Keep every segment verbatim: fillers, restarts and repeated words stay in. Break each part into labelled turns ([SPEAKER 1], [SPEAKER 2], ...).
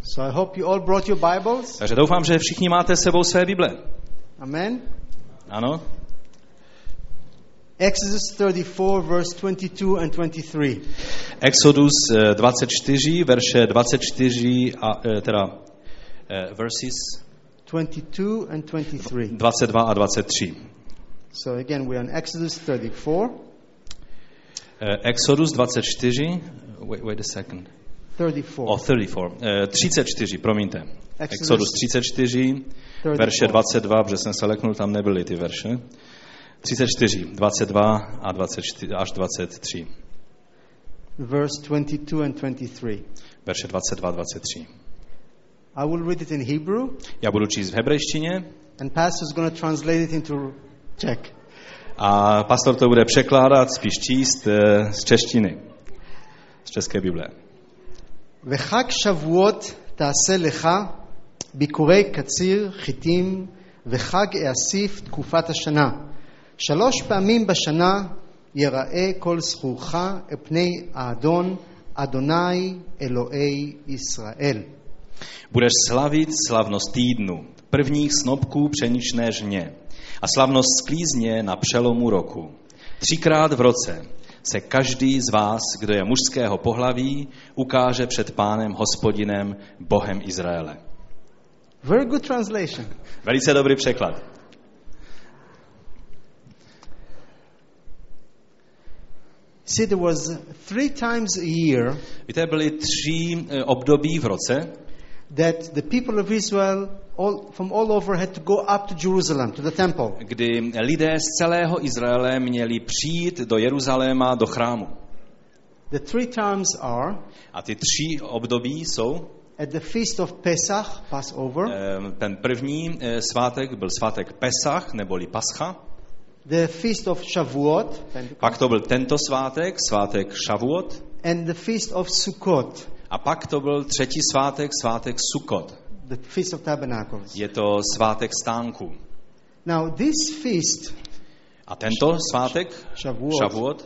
[SPEAKER 1] So I hope you all brought your Bibles.
[SPEAKER 2] Takže doufám, že všichni máte s sebou své Bible.
[SPEAKER 1] Amen.
[SPEAKER 2] Ano.
[SPEAKER 1] Exodus thirty-four, verse twenty-two and twenty-three.
[SPEAKER 2] Exodus dvacet čtyři, verše dvacet čtyři a teda uh, verses
[SPEAKER 1] twenty-two and twenty-three.
[SPEAKER 2] dvacet dva a dvacet tři.
[SPEAKER 1] So again, we're on Exodus thirty-four.
[SPEAKER 2] Uh, Exodus dvacet čtyři. Wait, wait a second.
[SPEAKER 1] thirty-four.
[SPEAKER 2] Oh, thirty-four. Uh, třicet čtyři, promiňte.
[SPEAKER 1] Exodus,
[SPEAKER 2] Exodus třicet čtyři, verše dvacet dva, protože jsem se leknul, tam nebyly ty verše. třicet čtyři, dvacet dva a dvacet čtyři až dvacet tři.
[SPEAKER 1] Verse twenty-two and twenty-three.
[SPEAKER 2] Verše dvacet dva a dvacet tři.
[SPEAKER 1] I will read it in Hebrew.
[SPEAKER 2] Já budu číst v hebrejštině.
[SPEAKER 1] And pastor's going to translate it into Czech.
[SPEAKER 2] A pastor to bude překládat, spíš číst uh, z češtiny. Z české Bible.
[SPEAKER 1] וחג שבועות תעשה לך ביקורי קציר חיטים וחג האסיף תקופת השנה. שלוש פעמים בשנה יראה כל זכורך פני האדון אדוני אלוהי ישראל.
[SPEAKER 2] Budeš slavit slavnost týdnu, prvních snopků pšeničné žně a slavnost sklízně na přelomu roku. Třikrát v roce se každý z vás, kdo je mužského pohlaví, ukáže před Pánem Hospodinem, Bohem Izraele.
[SPEAKER 1] Very good translation.
[SPEAKER 2] Velice dobrý překlad.
[SPEAKER 1] See, there was three times a year
[SPEAKER 2] Víte, byly tři období v roce,
[SPEAKER 1] that the people of Israel all, from all over had to go up to Jerusalem, to the temple.
[SPEAKER 2] kdy lidé z celého Izraele měli přijít do Jeruzaléma, do chrámu.
[SPEAKER 1] The three times are
[SPEAKER 2] A ty tři období jsou,
[SPEAKER 1] at the feast of Pesach, Passover,
[SPEAKER 2] ten první svátek byl svátek Pesach, neboli Pascha,
[SPEAKER 1] the feast of Shavuot,
[SPEAKER 2] pak to byl tento svátek, svátek Šavuot,
[SPEAKER 1] and the feast of Sukkot,
[SPEAKER 2] a pak to byl třetí svátek, svátek Sukkot.
[SPEAKER 1] the feast of tabernacles.
[SPEAKER 2] Je to svátek stánku.
[SPEAKER 1] Now this feast,
[SPEAKER 2] A tento svátek,
[SPEAKER 1] Shavuot,
[SPEAKER 2] Šavuot,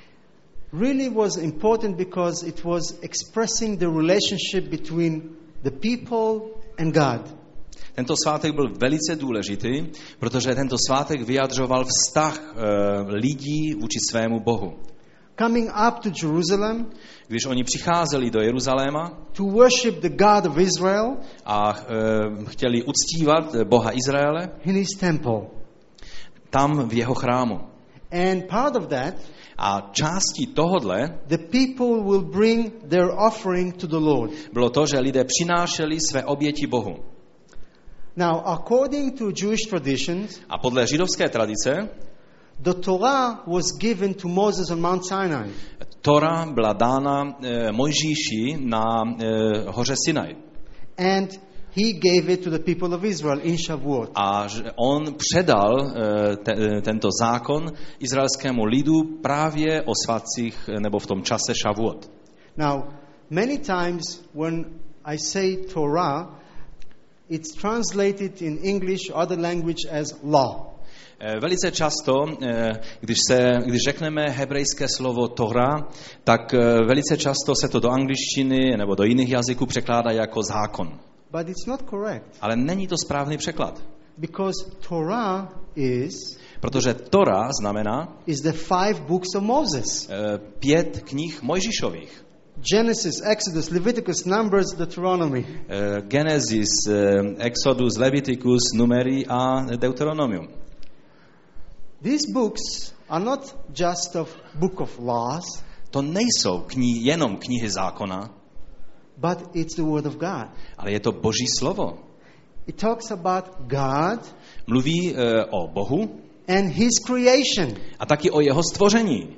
[SPEAKER 1] really was important because it was expressing the relationship between the people and God.
[SPEAKER 2] tento svátek byl velice důležitý, protože tento svátek vyjadřoval vztah e, lidí vůči svému Bohu.
[SPEAKER 1] Coming up to Jerusalem
[SPEAKER 2] Když oni přicházeli do Jeruzaléma
[SPEAKER 1] to worship the God of Israel
[SPEAKER 2] a e, chtěli uctívat Boha Izraele,
[SPEAKER 1] in his temple.
[SPEAKER 2] tam v jeho chrámu.
[SPEAKER 1] And part of that,
[SPEAKER 2] A částí tohodle
[SPEAKER 1] the people will bring their offering to the Lord.
[SPEAKER 2] bylo to, že lidé přinášeli své oběti Bohu.
[SPEAKER 1] Now, according to Jewish traditions,
[SPEAKER 2] A podle židovské tradice
[SPEAKER 1] the Torah was given to Moses on Mount Sinai.
[SPEAKER 2] Tora byla dána e, Mojžíši na e, hoře Sinaj.
[SPEAKER 1] And he gave it to the people of Israel in Shavuot.
[SPEAKER 2] A že on předal e, te, e, tento zákon izraelskému lidu právě o svátcích nebo v tom čase Šavuot.
[SPEAKER 1] Now, many times when I say Torah, it's translated in English or other language as law.
[SPEAKER 2] Velice často, když, se, když řekneme hebrejské slovo Tora, tak velice často se to do angličtiny nebo do jiných jazyků překládá jako zákon.
[SPEAKER 1] But it's not correct.
[SPEAKER 2] Ale není to správný překlad.
[SPEAKER 1] Because Torah is
[SPEAKER 2] Protože Tora znamená
[SPEAKER 1] is the five books of Moses.
[SPEAKER 2] pět knih Mojžíšových.
[SPEAKER 1] Genesis, Exodus, Leviticus, Numbers, Deuteronomy.
[SPEAKER 2] Genesis, Exodus, Leviticus, Numeri a Deuteronomium.
[SPEAKER 1] These books are not just a book of laws,
[SPEAKER 2] To nejsou knihy, jenom knihy zákona,
[SPEAKER 1] but it's the word of God.
[SPEAKER 2] ale je to Boží slovo.
[SPEAKER 1] It talks about God
[SPEAKER 2] Mluví uh, o Bohu
[SPEAKER 1] and his creation.
[SPEAKER 2] a taky o jeho stvoření.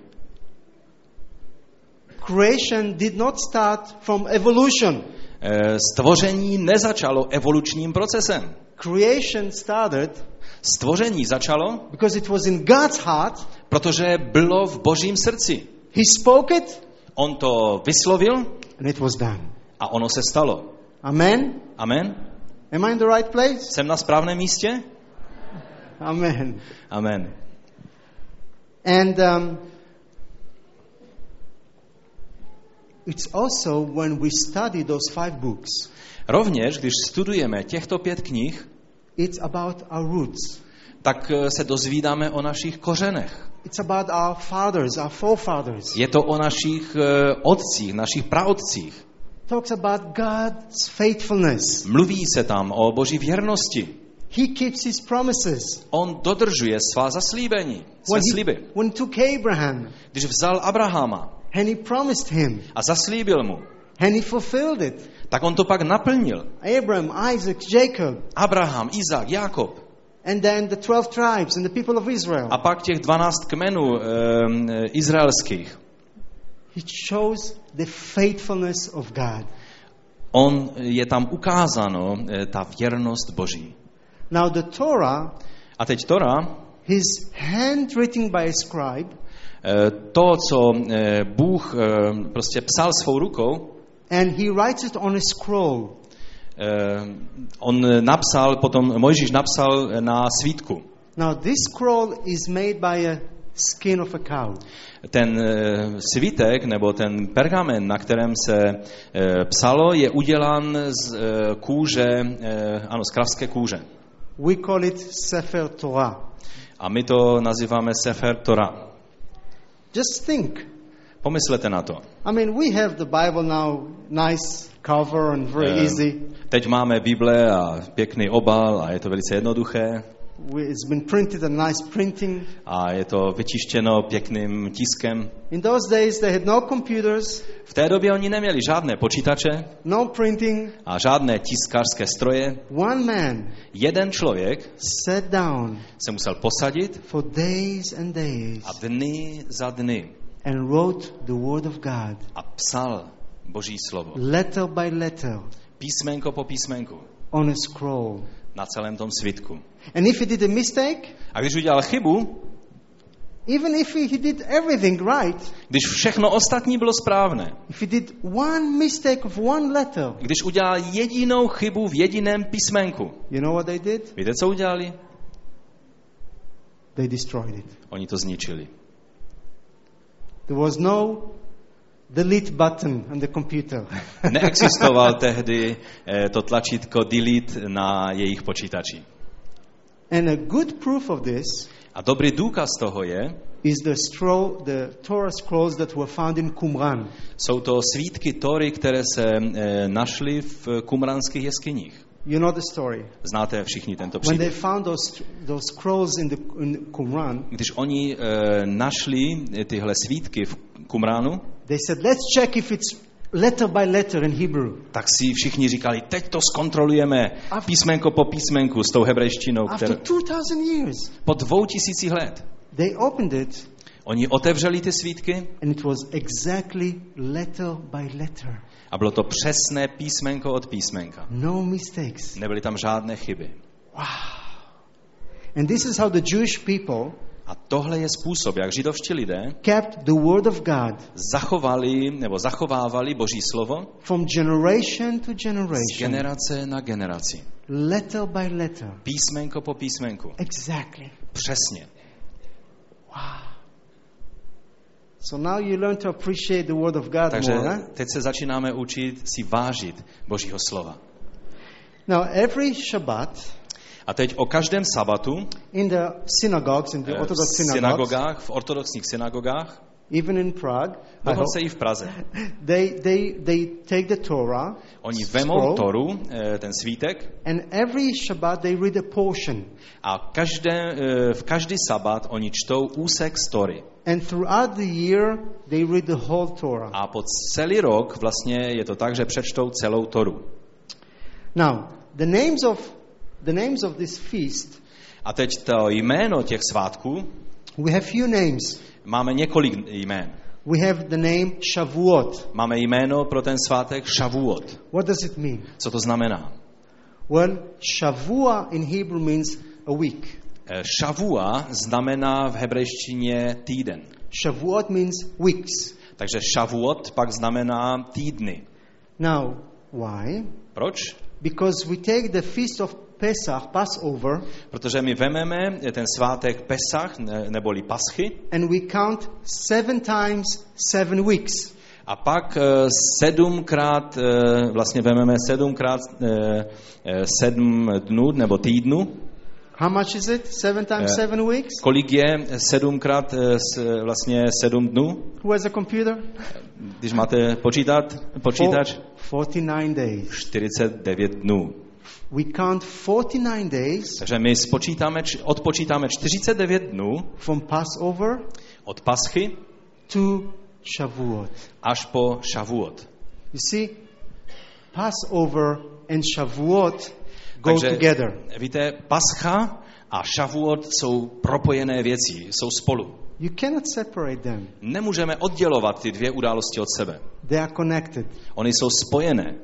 [SPEAKER 1] Creation did not start from evolution.
[SPEAKER 2] Uh, stvoření nezačalo evolučním procesem.
[SPEAKER 1] Creation started
[SPEAKER 2] Stvoření začalo,
[SPEAKER 1] because it was in God's heart.
[SPEAKER 2] protože bylo v Božím srdci.
[SPEAKER 1] He spoke it
[SPEAKER 2] On to vyslovil
[SPEAKER 1] and it was done.
[SPEAKER 2] a ono se stalo.
[SPEAKER 1] Amen.
[SPEAKER 2] Amen.
[SPEAKER 1] Am I in the right place?
[SPEAKER 2] Jsem na správném místě?
[SPEAKER 1] Amen.
[SPEAKER 2] Amen.
[SPEAKER 1] And um, it's also when we study those five books,
[SPEAKER 2] Rovněž, když studujeme těchto pět knih,
[SPEAKER 1] it's about our roots.
[SPEAKER 2] tak se dozvídáme o našich kořenech.
[SPEAKER 1] It's about our fathers, our forefathers.
[SPEAKER 2] Je to o našich otcích, našich praotcích.
[SPEAKER 1] Talks about God's faithfulness.
[SPEAKER 2] Mluví se tam o Boží věrnosti.
[SPEAKER 1] He keeps his promises.
[SPEAKER 2] On dodržuje svá zaslíbení, své
[SPEAKER 1] When
[SPEAKER 2] sliby.
[SPEAKER 1] he, when he took Abraham
[SPEAKER 2] Když vzal Abrahama
[SPEAKER 1] and he promised him
[SPEAKER 2] a zaslíbil mu,
[SPEAKER 1] and he fulfilled it.
[SPEAKER 2] tak on to pak naplnil.
[SPEAKER 1] Abraham, Isaac, Jacob,
[SPEAKER 2] Abraham, Izák, Jakob
[SPEAKER 1] and then the twelve tribes and the people of Israel.
[SPEAKER 2] a pak těch dvanáct kmenů e, e, izraelských.
[SPEAKER 1] He shows the faithfulness of God.
[SPEAKER 2] On je tam ukázáno e, ta věrnost Boží.
[SPEAKER 1] Now the Torah,
[SPEAKER 2] A teď Tora,
[SPEAKER 1] his handwritten by a scribe,
[SPEAKER 2] e, to, co e, Bůh e, prostě psal svou rukou,
[SPEAKER 1] and he writes it on a scroll.
[SPEAKER 2] e, on napsal, potom Mojžíš napsal na svítku.
[SPEAKER 1] Now this scroll is made by a skin of a cow.
[SPEAKER 2] Ten e, svítek, nebo ten pergamen, na kterém se e, psalo, je udělán z e, kůže, e, ano, z kravské kůže.
[SPEAKER 1] We call it Sefer Torah.
[SPEAKER 2] A my to nazýváme Sefer Torah.
[SPEAKER 1] Just think.
[SPEAKER 2] Pomyslete na to.
[SPEAKER 1] I mean, we have the Bible now, nice cover and very
[SPEAKER 2] Eh,
[SPEAKER 1] easy.
[SPEAKER 2] Teď máme Bible a pěkný obal a je to velice jednoduché
[SPEAKER 1] We, it's been printed a nice printing.
[SPEAKER 2] a je to vytištěno pěkným tiskem.
[SPEAKER 1] In those days, they had no computers,
[SPEAKER 2] V té době oni neměli žádné počítače
[SPEAKER 1] no printing.
[SPEAKER 2] a žádné tiskářské stroje.
[SPEAKER 1] One man
[SPEAKER 2] Jeden člověk
[SPEAKER 1] sat down
[SPEAKER 2] se musel posadit
[SPEAKER 1] for days and days
[SPEAKER 2] a dny za dny
[SPEAKER 1] and wrote the Word of God,
[SPEAKER 2] a psal Boží slovo.
[SPEAKER 1] letter by letter,
[SPEAKER 2] Písmenko po písmenku
[SPEAKER 1] on a scroll.
[SPEAKER 2] na celém tom svitku.
[SPEAKER 1] And if he did a mistake,
[SPEAKER 2] A když udělal chybu,
[SPEAKER 1] even if he did everything right,
[SPEAKER 2] když všechno ostatní bylo správné,
[SPEAKER 1] if he did one mistake of one letter,
[SPEAKER 2] když udělal jedinou chybu v jediném písmenku,
[SPEAKER 1] you know what they did?
[SPEAKER 2] víte, co udělali?
[SPEAKER 1] They destroyed it.
[SPEAKER 2] Oni to zničili.
[SPEAKER 1] There was no delete button on the computer.
[SPEAKER 2] Neexistoval tehdy eh, to tlačítko delete na jejich počítači.
[SPEAKER 1] And a good proof of this
[SPEAKER 2] A dobrý důkaz toho je,
[SPEAKER 1] is the scroll, the Torah scrolls that were found in Qumran.
[SPEAKER 2] jsou to svítky Tory, které se eh, našly v kumranských jeskyních.
[SPEAKER 1] You know the story.
[SPEAKER 2] Znáte všichni tento
[SPEAKER 1] When they
[SPEAKER 2] příběh.
[SPEAKER 1] found those those scrolls in the in Qumran,
[SPEAKER 2] Když oni eh, našli tyhle svítky v Kumránu,
[SPEAKER 1] they said, "Let's check if it's letter by letter in Hebrew."
[SPEAKER 2] tak si všichni říkali, teď to zkontrolujeme písmenko po písmenku s tou hebrejštinou,
[SPEAKER 1] After
[SPEAKER 2] kterou
[SPEAKER 1] two thousand years,
[SPEAKER 2] po dvou tisících let.
[SPEAKER 1] they opened it,
[SPEAKER 2] Oni otevřeli ty svítky
[SPEAKER 1] and it was exactly letter by letter.
[SPEAKER 2] a bylo to přesné písmenko od písmenka.
[SPEAKER 1] No mistakes.
[SPEAKER 2] Nebyly tam žádné chyby.
[SPEAKER 1] Wow. And this is how the Jewish people
[SPEAKER 2] A tohle je způsob, jak židovští lidé
[SPEAKER 1] kept the word of God
[SPEAKER 2] zachovali nebo zachovávali Boží slovo
[SPEAKER 1] from generation to
[SPEAKER 2] z
[SPEAKER 1] generation,
[SPEAKER 2] generace na generaci.
[SPEAKER 1] letter by letter.
[SPEAKER 2] Písmenko po písmenku.
[SPEAKER 1] Exactly.
[SPEAKER 2] Přesně.
[SPEAKER 1] Wow. So now you learn to appreciate the word of God
[SPEAKER 2] Takže
[SPEAKER 1] more. Huh?
[SPEAKER 2] teď se začínáme učit si vážit Božího slova.
[SPEAKER 1] Now every Shabbat
[SPEAKER 2] A teď o každém sabatu
[SPEAKER 1] in the synagogues, in the
[SPEAKER 2] eh,
[SPEAKER 1] Orthodox
[SPEAKER 2] v
[SPEAKER 1] synagogues,
[SPEAKER 2] synagogách, v ortodoxních synagogách,
[SPEAKER 1] even in Prague, I
[SPEAKER 2] dokonce
[SPEAKER 1] hope,
[SPEAKER 2] i v Praze,
[SPEAKER 1] they, they, they take the Torah,
[SPEAKER 2] oni vemou
[SPEAKER 1] scroll,
[SPEAKER 2] Toru, eh, ten svítek,
[SPEAKER 1] and every Shabbat they read a portion.
[SPEAKER 2] a každé, eh, v každý sabat oni čtou úsek z Tory.
[SPEAKER 1] And throughout the year, they read the whole Torah.
[SPEAKER 2] A po celý rok vlastně je to tak, že přečtou celou Toru.
[SPEAKER 1] Now, the names of the names of this feast,
[SPEAKER 2] A teď to jméno těch svátků,
[SPEAKER 1] we have few names.
[SPEAKER 2] máme několik jmén.
[SPEAKER 1] We have the name Shavuot.
[SPEAKER 2] Máme jméno pro ten svátek Shavuot.
[SPEAKER 1] What does it mean?
[SPEAKER 2] Co to znamená?
[SPEAKER 1] Well, Shavua in Hebrew means a week.
[SPEAKER 2] Eh, Shavua znamená v hebrejštině týden.
[SPEAKER 1] Shavuot means weeks.
[SPEAKER 2] Takže Shavuot pak znamená týdny.
[SPEAKER 1] Now, why?
[SPEAKER 2] Proč?
[SPEAKER 1] Because we take the feast of Pesach, Passover,
[SPEAKER 2] Protože my vememe ten svátek Pesach, ne- neboli Paschy,
[SPEAKER 1] and we count seven times seven weeks.
[SPEAKER 2] A pak uh, sedmkrát, uh, vlastně vezmeme sedmkrát uh, sedm dnů nebo týdnů.
[SPEAKER 1] How much is it? Seven times
[SPEAKER 2] Uh,
[SPEAKER 1] seven weeks?
[SPEAKER 2] Kolik je sedmkrát uh, s, vlastně sedm dnů?
[SPEAKER 1] Who has a computer?
[SPEAKER 2] Když máte počítat, počítač?
[SPEAKER 1] forty-nine days.
[SPEAKER 2] čtyřicet devět dnů.
[SPEAKER 1] We count forty-nine days
[SPEAKER 2] Takže my spočítáme, odpočítáme čtyřicet devět dnů
[SPEAKER 1] from Passover
[SPEAKER 2] od Paschy
[SPEAKER 1] to Shavuot.
[SPEAKER 2] až po Šavuot.
[SPEAKER 1] You see, Passover and Shavuot go
[SPEAKER 2] Takže,
[SPEAKER 1] together.
[SPEAKER 2] víte, Pascha a Šavuot jsou propojené věci, jsou spolu.
[SPEAKER 1] You cannot separate them.
[SPEAKER 2] Nemůžeme oddělovat ty dvě události od sebe.
[SPEAKER 1] They are connected.
[SPEAKER 2] Ony jsou spojené.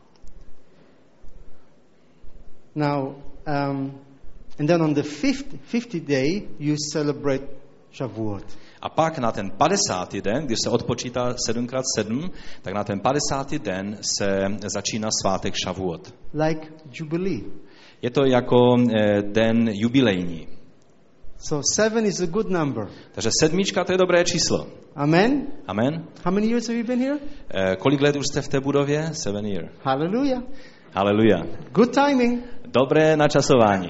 [SPEAKER 1] Now, um, and then on the fifth, fiftieth day, you celebrate Shavuot.
[SPEAKER 2] A pak na ten padesátý den, když se odpočítá sedm krát sedm, tak na ten padesátý den se začíná svátek Šavuot.
[SPEAKER 1] Like Jubilee.
[SPEAKER 2] Je to jako eh, den jubilejní.
[SPEAKER 1] So seven is a good number.
[SPEAKER 2] Takže sedmička to je dobré číslo.
[SPEAKER 1] Amen?
[SPEAKER 2] Amen.
[SPEAKER 1] How many years have you been here?
[SPEAKER 2] Eh, kolik let už jste v té budově? Seven year.
[SPEAKER 1] Hallelujah.
[SPEAKER 2] Haleluja.
[SPEAKER 1] Good timing.
[SPEAKER 2] Dobré načasování.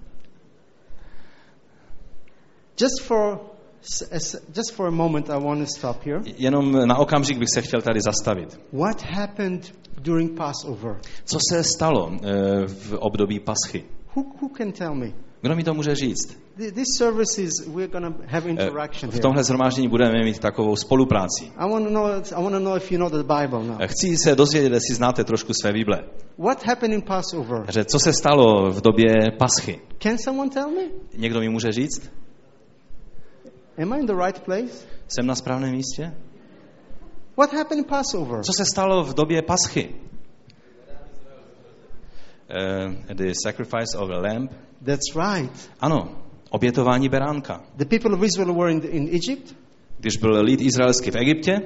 [SPEAKER 1] Just for just for a moment I want to stop here.
[SPEAKER 2] Jenom na okamžik bych se chtěl tady zastavit.
[SPEAKER 1] What happened during Passover?
[SPEAKER 2] Co se stalo eh, v období Paschy?
[SPEAKER 1] Who who can tell me?
[SPEAKER 2] Kdo mi to může říct?
[SPEAKER 1] This service is we're going to have interaction
[SPEAKER 2] V
[SPEAKER 1] here.
[SPEAKER 2] tomhle shromáždění budeme mít takovou spolupráci.
[SPEAKER 1] I want to know I want to know if you know the Bible now.
[SPEAKER 2] Chci se dozvědět, jestli znáte trošku své Bible.
[SPEAKER 1] What happened in Passover?
[SPEAKER 2] Takže co se stalo v době Paschy?
[SPEAKER 1] Can someone tell me?
[SPEAKER 2] Někdo mi může říct?
[SPEAKER 1] Am I in the right place?
[SPEAKER 2] Jsem na správném místě?
[SPEAKER 1] What happened in Passover?
[SPEAKER 2] Co se stalo v době Paschy? Uh, the sacrifice of a lamb.
[SPEAKER 1] That's right.
[SPEAKER 2] Ano, obětování beránka.
[SPEAKER 1] The people of Israel were in, the, in Egypt.
[SPEAKER 2] Když byl lid izraelský v Egyptě,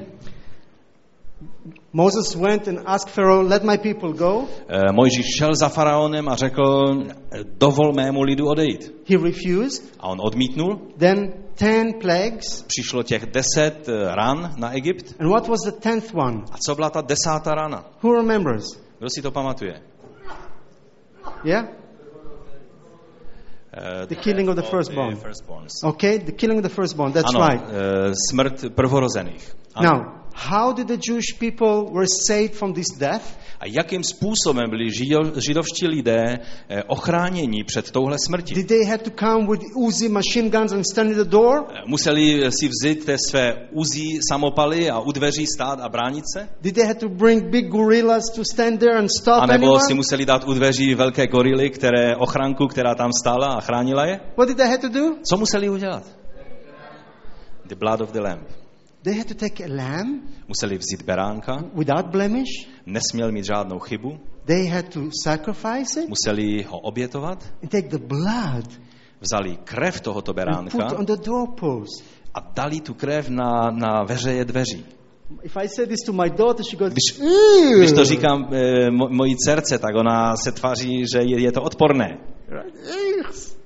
[SPEAKER 1] Moses went and asked Pharaoh, "Let my people go."
[SPEAKER 2] uh, Mojžíš šel za faraonem a řekl, dovol mému lidu odejít.
[SPEAKER 1] He refused.
[SPEAKER 2] A on odmítnul.
[SPEAKER 1] Then ten plagues.
[SPEAKER 2] Přišlo těch deset ran na Egypt.
[SPEAKER 1] And what was the tenth one?
[SPEAKER 2] A co byla ta desátá rana?
[SPEAKER 1] Who remembers?
[SPEAKER 2] Kdo si to pamatuje?
[SPEAKER 1] Yeah?
[SPEAKER 2] Uh,
[SPEAKER 1] The killing of the firstborn.
[SPEAKER 2] firstborns.
[SPEAKER 1] Okay, the killing of the firstborn. That's
[SPEAKER 2] ano,
[SPEAKER 1] right.
[SPEAKER 2] Uh, smrt prvorozených. Ano.
[SPEAKER 1] Now, how did the Jewish people were saved from this death?
[SPEAKER 2] A jakým způsobem byli žido, židovští lidé eh, ochráněni před touhle smrtí?
[SPEAKER 1] Did they have to come with Uzi machine guns and stand at the door?
[SPEAKER 2] Museli si vzít té své Uzi samopaly a u dveří stát a bránit se?
[SPEAKER 1] Did they have to bring big gorillas to stand there and stop
[SPEAKER 2] A nebo
[SPEAKER 1] anyone?
[SPEAKER 2] si museli dát u dveří velké gorily, které ochranku, která tam stála a chránila je?
[SPEAKER 1] What did they have to do?
[SPEAKER 2] Co museli udělat? The blood of the lamb.
[SPEAKER 1] They had to take a lamb
[SPEAKER 2] Museli vzít beránka,
[SPEAKER 1] without blemish.
[SPEAKER 2] nesměl mít žádnou chybu,
[SPEAKER 1] They had to sacrifice it
[SPEAKER 2] museli ho obětovat,
[SPEAKER 1] and take the blood
[SPEAKER 2] vzali krev tohoto
[SPEAKER 1] and
[SPEAKER 2] beránka
[SPEAKER 1] put on the doorpost.
[SPEAKER 2] a dali tu krev na, na veřeje dveří.
[SPEAKER 1] If I say this to my daughter, she goes,
[SPEAKER 2] Když,
[SPEAKER 1] "Ew."
[SPEAKER 2] když to říkám e, mo, mojí dcerce, tak ona se tváří, že je, je to odporné.
[SPEAKER 1] Right?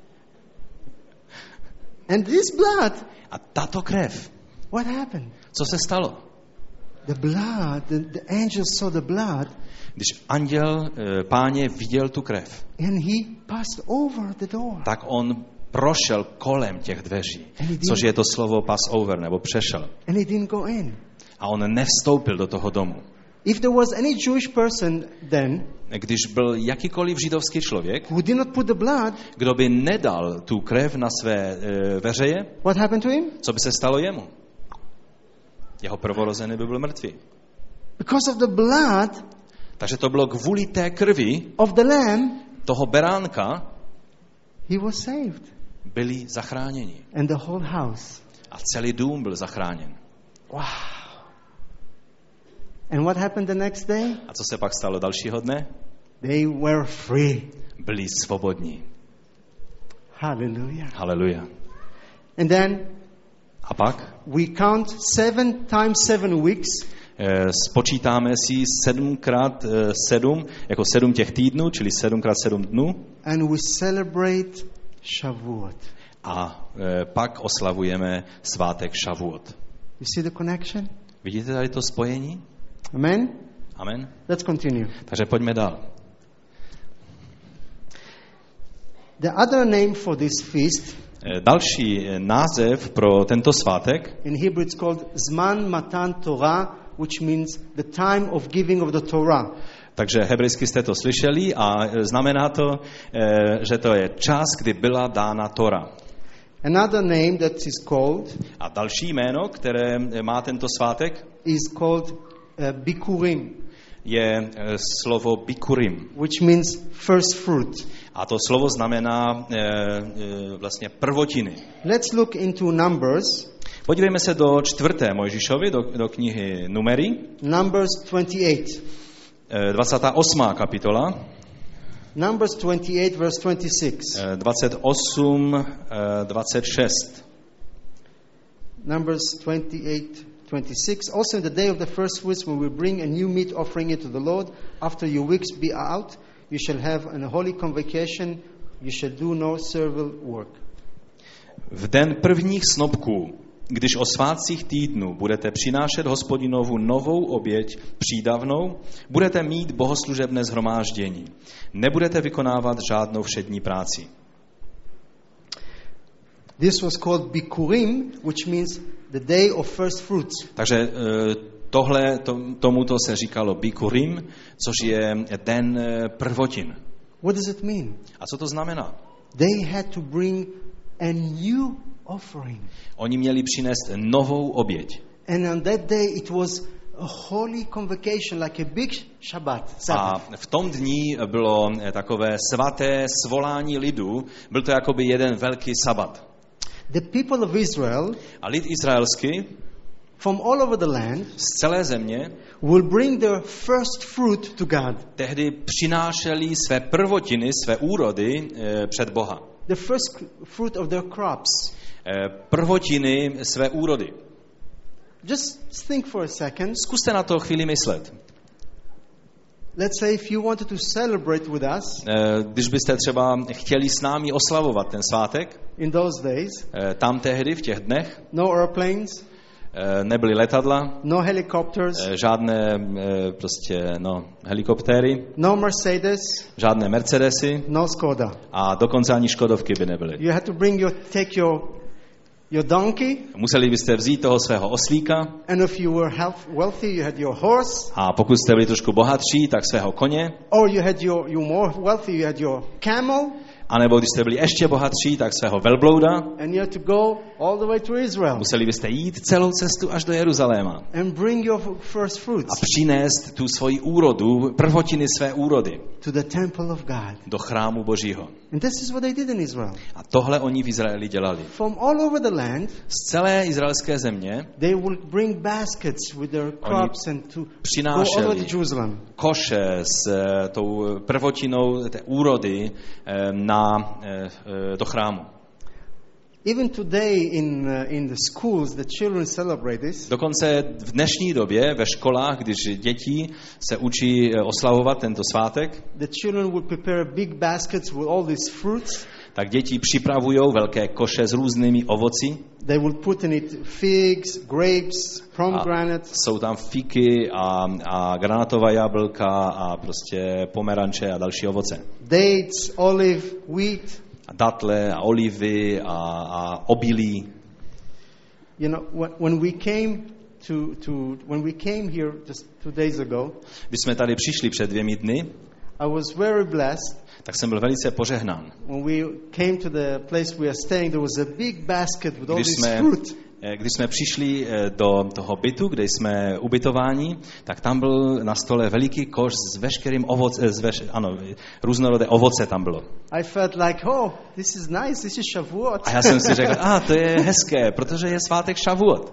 [SPEAKER 1] And this blood,
[SPEAKER 2] A tato krev,
[SPEAKER 1] what happened?
[SPEAKER 2] co se stalo?
[SPEAKER 1] The blood, the, the angel saw the blood
[SPEAKER 2] Když anděl e, Páně viděl tu krev,
[SPEAKER 1] and he passed over the door.
[SPEAKER 2] tak on prošel kolem těch dveří,
[SPEAKER 1] And he didn't-
[SPEAKER 2] což je to slovo pass over, nebo přešel.
[SPEAKER 1] And he didn't go in.
[SPEAKER 2] A on nevstoupil do toho domu.
[SPEAKER 1] If there was any Jewish person then
[SPEAKER 2] Když byl jakýkoliv židovský člověk,
[SPEAKER 1] who did not put the blood,
[SPEAKER 2] kdo by nedal tu krev na své e, veřeje,
[SPEAKER 1] what happened to him?
[SPEAKER 2] co by se stalo jemu? Jeho prvorozený by byl mrtvý.
[SPEAKER 1] Because of the blood
[SPEAKER 2] Takže to bylo kvůli té krvi
[SPEAKER 1] of the lamb,
[SPEAKER 2] toho beránka
[SPEAKER 1] he was saved.
[SPEAKER 2] byli zachráněni.
[SPEAKER 1] And the whole house.
[SPEAKER 2] A celý dům byl zachráněn.
[SPEAKER 1] Wow. And what happened the next day?
[SPEAKER 2] A co se pak stalo dalšího dne?
[SPEAKER 1] They were free.
[SPEAKER 2] Byli svobodní.
[SPEAKER 1] Hallelujah.
[SPEAKER 2] Haleluja.
[SPEAKER 1] And then
[SPEAKER 2] A pak
[SPEAKER 1] we count seven times seven weeks.
[SPEAKER 2] eh, spočítáme si sedmkrát eh, sedm, jako sedm těch týdnů, čili sedmkrát sedm dnů.
[SPEAKER 1] And we celebrate Shavuot.
[SPEAKER 2] A eh, pak oslavujeme svátek Šavuot.
[SPEAKER 1] You see the connection?
[SPEAKER 2] Vidíte tady to spojení?
[SPEAKER 1] Amen?
[SPEAKER 2] Amen.
[SPEAKER 1] Let's continue.
[SPEAKER 2] Takže pojďme dál.
[SPEAKER 1] The other name for this feast,
[SPEAKER 2] Další název pro tento svátek,
[SPEAKER 1] in Hebrew it's called Zman Matan Torah, which means the time of giving of the Torah.
[SPEAKER 2] takže hebrejsky jste to slyšeli a znamená to, že to je čas, kdy byla dána Tora.
[SPEAKER 1] Another name that is called
[SPEAKER 2] A další jméno, které má tento svátek,
[SPEAKER 1] is called uh, Bikurim,
[SPEAKER 2] je slovo Bikurim.
[SPEAKER 1] which means first fruit.
[SPEAKER 2] A to slovo znamená e, e, vlastně prvotiny.
[SPEAKER 1] Let's look into Numbers,
[SPEAKER 2] Podívejme se do čtvrté Mojžišovi, do, do knihy Numery,
[SPEAKER 1] Numbers twenty-eight.
[SPEAKER 2] e, dvacátá osmá kapitola,
[SPEAKER 1] Numbers twenty-eight, verse twenty-six.
[SPEAKER 2] e, dvacet osm, e, dvacet šest.
[SPEAKER 1] Numbers twenty-eight, twenty-six. Also in the day of the first fruits, when we bring a new meat offering it to the Lord, after your weeks be out, you shall have an holy convocation, you shall do no servile work.
[SPEAKER 2] V den prvních snopků, když o svátcích týdnu budete přinášet Hospodinovu novou oběť přídavnou, budete mít bohoslužebné shromáždění. Nebudete vykonávat žádnou všední práci.
[SPEAKER 1] This was called Bikurim, which means the day of first fruits.
[SPEAKER 2] Takže tohle, to, tomuto se říkalo Bikurim, což je den prvotin.
[SPEAKER 1] What does it mean?
[SPEAKER 2] A co to znamená?
[SPEAKER 1] They had to bring a new offering.
[SPEAKER 2] Oni měli přinést novou oběť.
[SPEAKER 1] And on that day it was a holy convocation, like a big Shabbat.
[SPEAKER 2] A
[SPEAKER 1] Sabbath.
[SPEAKER 2] v tom dní bylo takové svaté svolání lidu, byl to jakoby jeden velký sabat.
[SPEAKER 1] The people of Israel
[SPEAKER 2] A lid izraelský
[SPEAKER 1] from all over the land
[SPEAKER 2] z celé země
[SPEAKER 1] will bring their first fruit to God.
[SPEAKER 2] tehdy přinášeli své prvotiny, své úrody e, před Boha.
[SPEAKER 1] The first fruit of their crops.
[SPEAKER 2] E, prvotiny své úrody.
[SPEAKER 1] Just think for a second.
[SPEAKER 2] Zkuste na to chvíli myslet.
[SPEAKER 1] Let's say if you wanted to celebrate with us
[SPEAKER 2] E, když byste třeba chtěli s námi oslavovat ten svátek,
[SPEAKER 1] in those days,
[SPEAKER 2] e, tam tehdy v těch dnech
[SPEAKER 1] no airplanes,
[SPEAKER 2] e, nebyly letadla,
[SPEAKER 1] no helicopters,
[SPEAKER 2] e, žádné e, prostě no, helikoptéry,
[SPEAKER 1] no Mercedes,
[SPEAKER 2] žádné Mercedesy
[SPEAKER 1] no Skoda.
[SPEAKER 2] a dokonce ani Škodovky by nebyly.
[SPEAKER 1] You had to bring your, take your, your donkey,
[SPEAKER 2] Museli byste vzít toho svého oslíka
[SPEAKER 1] and if you were health, wealthy, you had your horse,
[SPEAKER 2] a pokud jste byli trošku bohatší, tak svého koně,
[SPEAKER 1] or you had your, you more wealthy, you had your camel,
[SPEAKER 2] anebo když jste byli ještě bohatší, tak svého velblouda.
[SPEAKER 1] and you had to go all the way to Israel
[SPEAKER 2] Museli byste jít celou cestu až do Jeruzaléma
[SPEAKER 1] and bring your first
[SPEAKER 2] a
[SPEAKER 1] fruits
[SPEAKER 2] přinést tu svoji úrodu, prvotiny své úrody
[SPEAKER 1] to the temple of God.
[SPEAKER 2] do chrámu Božího.
[SPEAKER 1] And this is what they did in Israel.
[SPEAKER 2] A tohle oni v Izraeli dělali.
[SPEAKER 1] From all over the land,
[SPEAKER 2] Z celé izraelské země
[SPEAKER 1] they will bring baskets with their crops and to go all
[SPEAKER 2] přinášeli
[SPEAKER 1] over to Jerusalem.
[SPEAKER 2] koše s eh, tou prvotinou té úrody eh, na, eh, do chrámu.
[SPEAKER 1] Even today in, uh, in the schools, the children celebrate this.
[SPEAKER 2] Dokonce v dnešní době ve školách, když děti se učí eh, oslavovat tento svátek,
[SPEAKER 1] The children will prepare big baskets with all these fruits.
[SPEAKER 2] tak děti připravují velké koše s různými ovoci.
[SPEAKER 1] They will put in it figs, grapes,
[SPEAKER 2] A
[SPEAKER 1] pomegranates,
[SPEAKER 2] jsou tam fiky a, a granatová jablka a prostě pomeranče a další ovoce.
[SPEAKER 1] dates, olive, wheat.
[SPEAKER 2] A datle a olivy a, a obilí.
[SPEAKER 1] You know, when, when we came to, to when we came here just two days ago,
[SPEAKER 2] Když jsme tady přišli před dvěmi dny,
[SPEAKER 1] I was very blessed.
[SPEAKER 2] tak jsem byl velice požehnán.
[SPEAKER 1] When we came to the place we are staying, there was a big basket with all
[SPEAKER 2] Když
[SPEAKER 1] this
[SPEAKER 2] jsme,
[SPEAKER 1] fruit.
[SPEAKER 2] když jsme přišli do toho bytu, kde jsme ubytováni, tak tam byl na stole veliký koš s veškerým ovoce, s veš, ano, různorodé ovoce tam bylo.
[SPEAKER 1] I felt like, oh, this is nice, this is Shavuot.
[SPEAKER 2] A já jsem si řekl, a ah, to je hezké, protože je svátek Šavuot.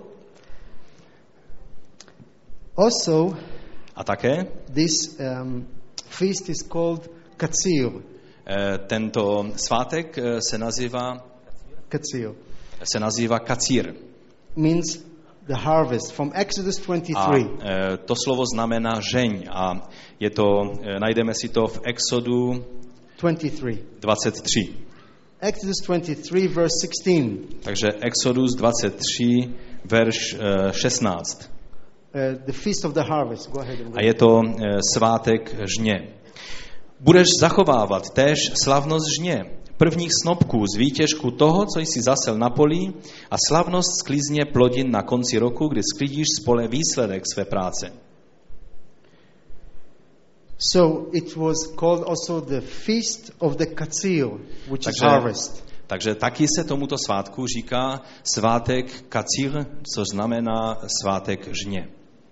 [SPEAKER 1] Also,
[SPEAKER 2] A také
[SPEAKER 1] this um, feast is called Katsir.
[SPEAKER 2] eh, tento svátek eh, se nazývá,
[SPEAKER 1] Katsir
[SPEAKER 2] se nazývá Kacír.
[SPEAKER 1] means the harvest. From Exodus
[SPEAKER 2] A
[SPEAKER 1] twenty-three.
[SPEAKER 2] eh, to slovo znamená žeň a je to, eh, najdeme si to v Exodu
[SPEAKER 1] twenty-three.
[SPEAKER 2] dvacet tři.
[SPEAKER 1] Exodus twenty-three, verse sixteen.
[SPEAKER 2] Takže Exodus dvacet tři, verš eh, šestnáct.
[SPEAKER 1] the feast of the harvest. Go ahead.
[SPEAKER 2] A je to svátek žně. Budeš zachovávat též slavnost žně, prvních snopků z výtěžku toho, co jsi zasel na polí, a slavnost sklizně plodin na konci roku, kdy sklidíš z pole výsledek své práce.
[SPEAKER 1] So it was called also the feast of the katzil, which
[SPEAKER 2] takže,
[SPEAKER 1] is harvest.
[SPEAKER 2] Takže taky se tomuto svátku říká svátek kacil, což znamená svátek žně.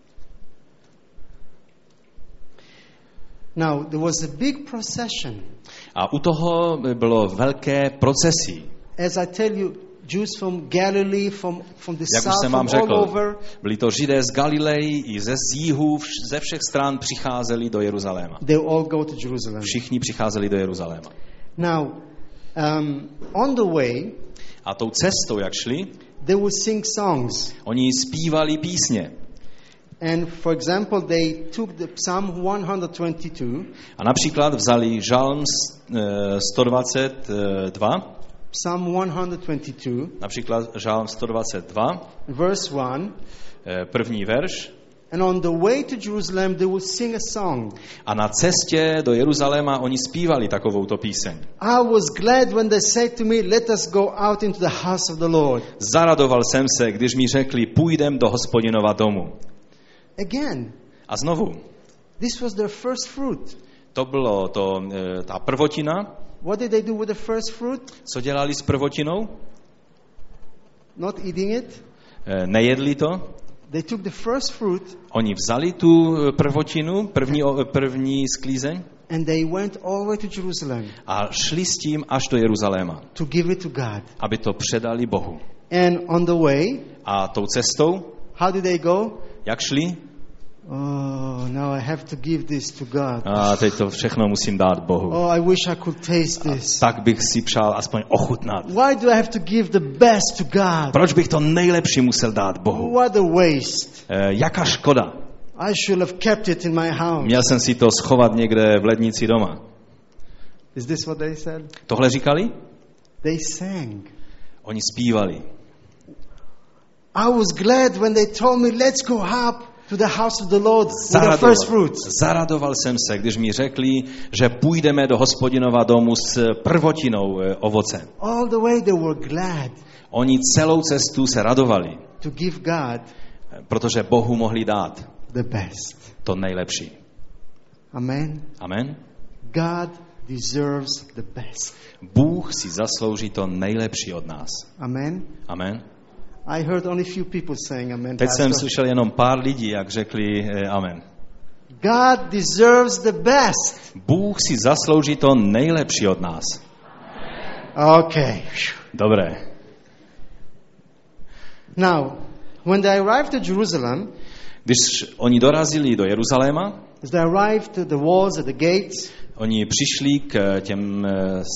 [SPEAKER 1] Now, there was a big procession.
[SPEAKER 2] A u toho bylo velké procesí.
[SPEAKER 1] As I tell you, Jews from Galilee, from, from the
[SPEAKER 2] Jak
[SPEAKER 1] south,
[SPEAKER 2] už jsem
[SPEAKER 1] from
[SPEAKER 2] vám
[SPEAKER 1] all
[SPEAKER 2] řekl,
[SPEAKER 1] over.
[SPEAKER 2] byli to Židé z Galileji i ze jihu, ze všech stran přicházeli do Jeruzaléma.
[SPEAKER 1] They all go to Jerusalem.
[SPEAKER 2] Všichni přicházeli do Jeruzaléma.
[SPEAKER 1] Now, um, on the way,
[SPEAKER 2] a tou cestou, jak šli,
[SPEAKER 1] they would sing songs.
[SPEAKER 2] Oni zpívali písně.
[SPEAKER 1] And for example, they took the Psalm one twenty-two.
[SPEAKER 2] A například vzali Žalm sto dvacet dva.
[SPEAKER 1] Psalm one twenty-two.
[SPEAKER 2] Například Žalm sto dvacet dva.
[SPEAKER 1] Verse one.
[SPEAKER 2] První verš.
[SPEAKER 1] And on the way to Jerusalem they would sing a song.
[SPEAKER 2] A na cestě do Jeruzaléma oni zpívali takovouto píseň.
[SPEAKER 1] I was glad when they said to me, let us go out into the house of the Lord.
[SPEAKER 2] Zaradoval jsem se, když mi řekli, půjdem do Hospodinova domu.
[SPEAKER 1] Again.
[SPEAKER 2] A znovu.
[SPEAKER 1] This was their first fruit.
[SPEAKER 2] To bylo to, ta prvotina.
[SPEAKER 1] What did they do with the first fruit?
[SPEAKER 2] Co dělali s prvotinou?
[SPEAKER 1] Not eating it.
[SPEAKER 2] Nejedli to.
[SPEAKER 1] They took the first fruit.
[SPEAKER 2] Oni vzali tu prvotinu, první, první sklízeň.
[SPEAKER 1] And they went all the way to Jerusalem.
[SPEAKER 2] A šli s tím až do Jeruzaléma.
[SPEAKER 1] To give it to God.
[SPEAKER 2] Aby to předali Bohu.
[SPEAKER 1] And on the way.
[SPEAKER 2] A tou cestou.
[SPEAKER 1] How did they go?
[SPEAKER 2] Jak šli?
[SPEAKER 1] Oh, now I have to give this to God.
[SPEAKER 2] A teď to všechno musím dát Bohu.
[SPEAKER 1] Oh, I wish I could taste this.
[SPEAKER 2] A tak bych si přál aspoň ochutnat.
[SPEAKER 1] Why do I have to give the best to God?
[SPEAKER 2] Proč bych to nejlepší musel dát Bohu?
[SPEAKER 1] What a waste.
[SPEAKER 2] E, jaká škoda.
[SPEAKER 1] I should have kept it in my house.
[SPEAKER 2] Měl jsem si to schovat někde v lednici doma.
[SPEAKER 1] Is this what they said?
[SPEAKER 2] Tohle říkali?
[SPEAKER 1] They sang.
[SPEAKER 2] Oni zpívali.
[SPEAKER 1] I was glad when they told me, let's go up to the house of the Lord with the first fruits.
[SPEAKER 2] Zaradoval jsem se, když mi řekli, že půjdeme do Hospodinova domu s prvotinou ovoce.
[SPEAKER 1] All the way they were glad.
[SPEAKER 2] Oni celou cestu se radovali.
[SPEAKER 1] To give God
[SPEAKER 2] protože Bohu mohli dát
[SPEAKER 1] the best.
[SPEAKER 2] To nejlepší.
[SPEAKER 1] Amen.
[SPEAKER 2] Amen.
[SPEAKER 1] God deserves the best.
[SPEAKER 2] Bůh si zaslouží to nejlepší od nás.
[SPEAKER 1] Amen.
[SPEAKER 2] Amen.
[SPEAKER 1] I heard only few people saying amen.
[SPEAKER 2] Teď
[SPEAKER 1] Pastor.
[SPEAKER 2] jsem slyšel jenom pár lidí, jak řekli eh, amen.
[SPEAKER 1] God deserves the best.
[SPEAKER 2] Bůh si zaslouží to nejlepší od nás.
[SPEAKER 1] Okay.
[SPEAKER 2] Dobré.
[SPEAKER 1] Now, when they arrived to Jerusalem,
[SPEAKER 2] když oni dorazili do Jeruzaléma,
[SPEAKER 1] as they arrived to the walls at the gates,
[SPEAKER 2] oni přišli k těm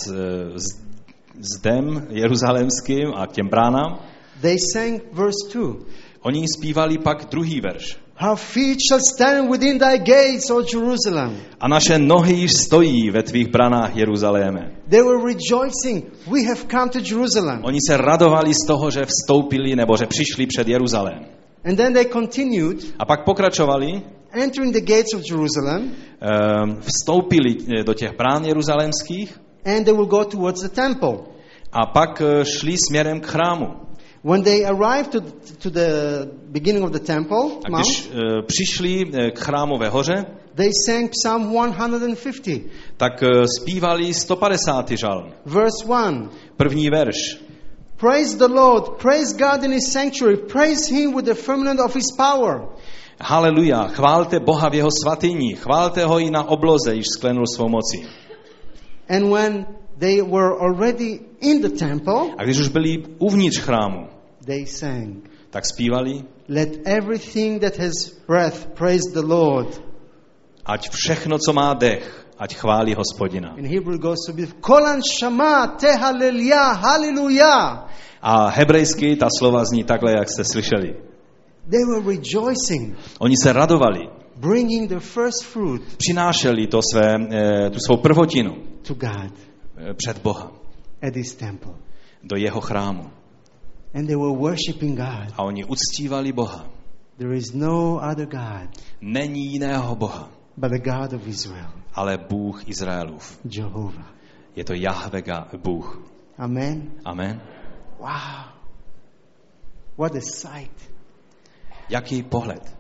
[SPEAKER 2] zdem jeruzalémským a k těm bránám.
[SPEAKER 1] They sang verse two.
[SPEAKER 2] Oni zpívali pak druhý verš.
[SPEAKER 1] Our feet shall stand within thy gates, O Jerusalem.
[SPEAKER 2] A naše nohy již stojí ve tvých branách, Jeruzaléme.
[SPEAKER 1] They were rejoicing. We have come to Jerusalem.
[SPEAKER 2] Oni se radovali z toho, že vstoupili nebo že přišli před Jeruzalém.
[SPEAKER 1] And then they continued.
[SPEAKER 2] A pak pokračovali.
[SPEAKER 1] Entering the gates of Jerusalem.
[SPEAKER 2] Vstoupili do těch brán jeruzalémských.
[SPEAKER 1] And they will go towards the temple.
[SPEAKER 2] A pak šli směrem k chrámu.
[SPEAKER 1] When they arrived to, to the beginning of the temple,
[SPEAKER 2] a když uh, přišli k chrámové hoře,
[SPEAKER 1] they sang Psalm one fifty.
[SPEAKER 2] Tak uh, zpívali sto padesátý žalm.
[SPEAKER 1] Verse one.
[SPEAKER 2] První verš.
[SPEAKER 1] Praise the Lord, praise God in his sanctuary, praise him with the firmament of his power.
[SPEAKER 2] Haleluja, chválte Boha v jeho svatyni, chválte ho i na obloze, již sklenul svou mocí.
[SPEAKER 1] And when they were already in the temple,
[SPEAKER 2] a když už byli uvnitř chrámu,
[SPEAKER 1] they sang.
[SPEAKER 2] Tak zpívali.
[SPEAKER 1] Let everything that has breath praise the Lord.
[SPEAKER 2] Ať všechno, co má dech, ať chválí Hospodina.
[SPEAKER 1] In Hebrew goes to be Kolan Shama te hallelujah, hallelujah.
[SPEAKER 2] A hebrejsky ta slova zní takhle, jak jste slyšeli.
[SPEAKER 1] They were rejoicing.
[SPEAKER 2] Oni se radovali.
[SPEAKER 1] Bringing the first fruit.
[SPEAKER 2] Přinášeli to své, tu svou prvotinu.
[SPEAKER 1] To God.
[SPEAKER 2] Před Boha.
[SPEAKER 1] At his temple.
[SPEAKER 2] Do jeho chrámu.
[SPEAKER 1] And they were worshiping God.
[SPEAKER 2] A oni uctívali Boha.
[SPEAKER 1] There is no other God
[SPEAKER 2] Není jiného Boha,
[SPEAKER 1] but the God of Israel,
[SPEAKER 2] ale Bůh Izraelův.
[SPEAKER 1] Jehovah.
[SPEAKER 2] Je to Jahve Bůh.
[SPEAKER 1] Amen.
[SPEAKER 2] Amen.
[SPEAKER 1] Wow. What a sight.
[SPEAKER 2] Jaký pohled.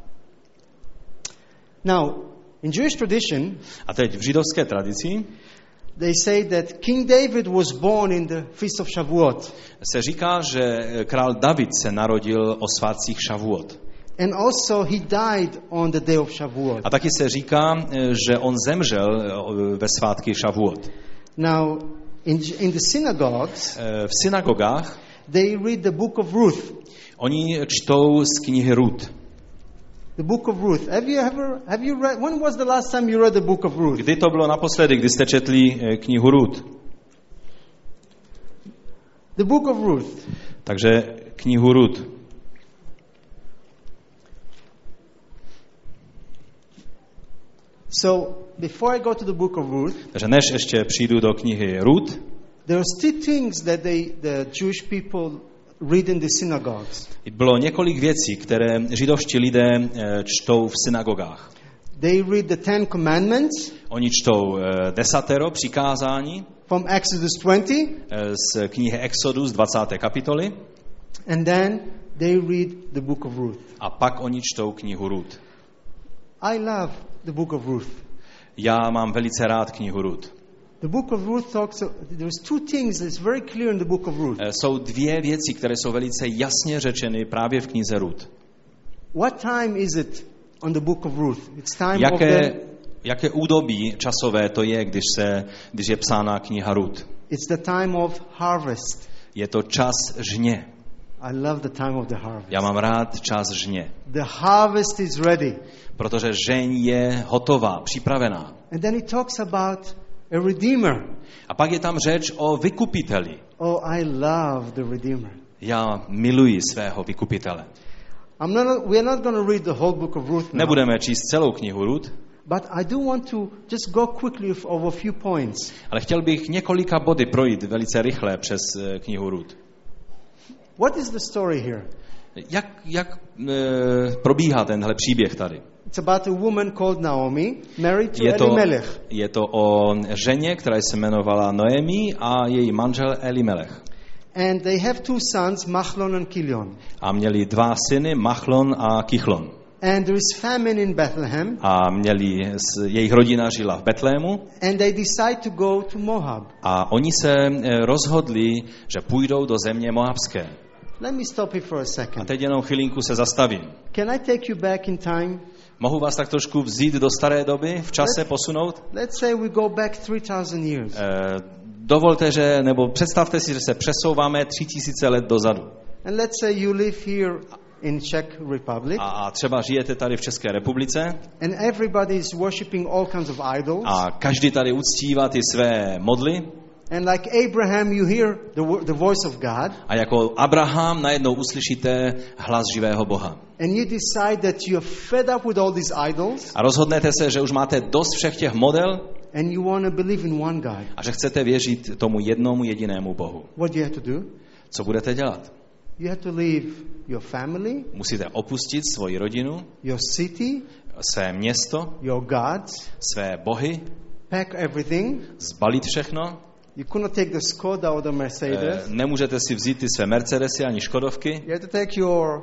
[SPEAKER 1] Now, in Jewish tradition,
[SPEAKER 2] A teď v židovské tradici
[SPEAKER 1] they say that King David was born in the Feast of Shavuot.
[SPEAKER 2] se říká, že král David se narodil o svátcích Šavuot.
[SPEAKER 1] And also he died on the day of Shavuot.
[SPEAKER 2] A taky se říká, že on zemřel ve svátky Šavuot.
[SPEAKER 1] Now, in, in the synagogues,
[SPEAKER 2] V synagogách
[SPEAKER 1] they read the book of Ruth.
[SPEAKER 2] oni čtou z knihy Rut.
[SPEAKER 1] The book of Ruth. Have you ever, have you read, when was the last time you read the book of Ruth?
[SPEAKER 2] Kdy to bylo naposledy, kdy jste četli knihu Rut?
[SPEAKER 1] The book of Ruth.
[SPEAKER 2] Takže knihu Rut.
[SPEAKER 1] So, before I go to the book of Ruth,
[SPEAKER 2] Takže než ještě přijdu do knihy Rut,
[SPEAKER 1] there are still things that they, the Jewish people read in the synagogues.
[SPEAKER 2] bylo několik věcí, které židovští lidé čtou v synagogách.
[SPEAKER 1] They read the Ten Commandments
[SPEAKER 2] Oni čtou desatero přikázání
[SPEAKER 1] from Exodus twenty,
[SPEAKER 2] z knihy Exodus dvacáté kapitoly
[SPEAKER 1] and then they read the book of Ruth.
[SPEAKER 2] a pak oni čtou knihu Rut.
[SPEAKER 1] I love the book of Ruth.
[SPEAKER 2] Já mám velice rád knihu Rut.
[SPEAKER 1] The book of Ruth talks, there's two things that's very clear in the book of Ruth.
[SPEAKER 2] Jsou dvě věci, které jsou velice jasně řečeny právě v knize Rut.
[SPEAKER 1] What time is it on the book of Ruth? It's time of
[SPEAKER 2] Jaké,
[SPEAKER 1] the,
[SPEAKER 2] jaké údobí časové to je, když, se, když je psána kniha Rut?
[SPEAKER 1] it's the time of harvest.
[SPEAKER 2] Je to čas žně.
[SPEAKER 1] I love the time of the harvest.
[SPEAKER 2] Já mám rád čas žně,
[SPEAKER 1] The harvest is ready.
[SPEAKER 2] protože žeň je hotová, připravená.
[SPEAKER 1] And then he talks about a redeemer.
[SPEAKER 2] A pak je tam řeč o vykupiteli.
[SPEAKER 1] Oh, I love the redeemer.
[SPEAKER 2] Já miluji svého vykupitele.
[SPEAKER 1] I'm not, we are not going to read the whole book of Ruth now,
[SPEAKER 2] Nebudeme číst celou knihu Rut,
[SPEAKER 1] but I do want to just go quickly over a few points.
[SPEAKER 2] ale chtěl bych několika body projít velice rychle přes eh, knihu Rut.
[SPEAKER 1] What is the story here?
[SPEAKER 2] Jak, jak e, probíhá tenhle příběh tady?
[SPEAKER 1] It's about a woman called Naomi, married to
[SPEAKER 2] Je to,
[SPEAKER 1] Elimelech.
[SPEAKER 2] je to o ženě, která se jmenovala Noemi a její manžel Elimelech.
[SPEAKER 1] And they have two sons, Machlon and Kilion.
[SPEAKER 2] A měli dva syny, Machlon a Kichlon.
[SPEAKER 1] And there is famine in Bethlehem.
[SPEAKER 2] A měli, jejich rodina žila v Betlému.
[SPEAKER 1] And they decide to go to Moab.
[SPEAKER 2] A oni se rozhodli, že půjdou do země Moabské.
[SPEAKER 1] Let me stop here for a
[SPEAKER 2] A
[SPEAKER 1] second.
[SPEAKER 2] teď jenom chvilinku se zastavím.
[SPEAKER 1] Can I take you back in time?
[SPEAKER 2] Mohu vás tak trošku vzít do staré doby, v čase posunout?
[SPEAKER 1] Let's say we go back three thousand years.
[SPEAKER 2] E, dovolte, že, nebo představte si, že se přesouváme tři tisíce let dozadu.
[SPEAKER 1] And let's say you live here in Czech Republic.
[SPEAKER 2] A, a třeba žijete tady v České republice.
[SPEAKER 1] And everybody is worshiping all kinds of idols.
[SPEAKER 2] A každý tady uctívá ty své modly.
[SPEAKER 1] And like Abraham, you hear the, the voice of God.
[SPEAKER 2] A jako Abraham najednou uslyšíte hlas živého Boha.
[SPEAKER 1] And you decide that you're fed up with all these idols.
[SPEAKER 2] A rozhodnete se, že už máte dost všech těch model.
[SPEAKER 1] And you want to believe in one God.
[SPEAKER 2] A že chcete věřit tomu jednomu jedinému Bohu.
[SPEAKER 1] What do you have to do?
[SPEAKER 2] Co budete dělat?
[SPEAKER 1] You have to leave your family,
[SPEAKER 2] Musíte opustit svoji rodinu,
[SPEAKER 1] your city,
[SPEAKER 2] své město,
[SPEAKER 1] your gods,
[SPEAKER 2] své bohy,
[SPEAKER 1] pack everything.
[SPEAKER 2] zbalit všechno.
[SPEAKER 1] You could not take the Skoda or the Mercedes.
[SPEAKER 2] E, nemůžete si vzít ty své Mercedesy ani Škodovky.
[SPEAKER 1] You have to take your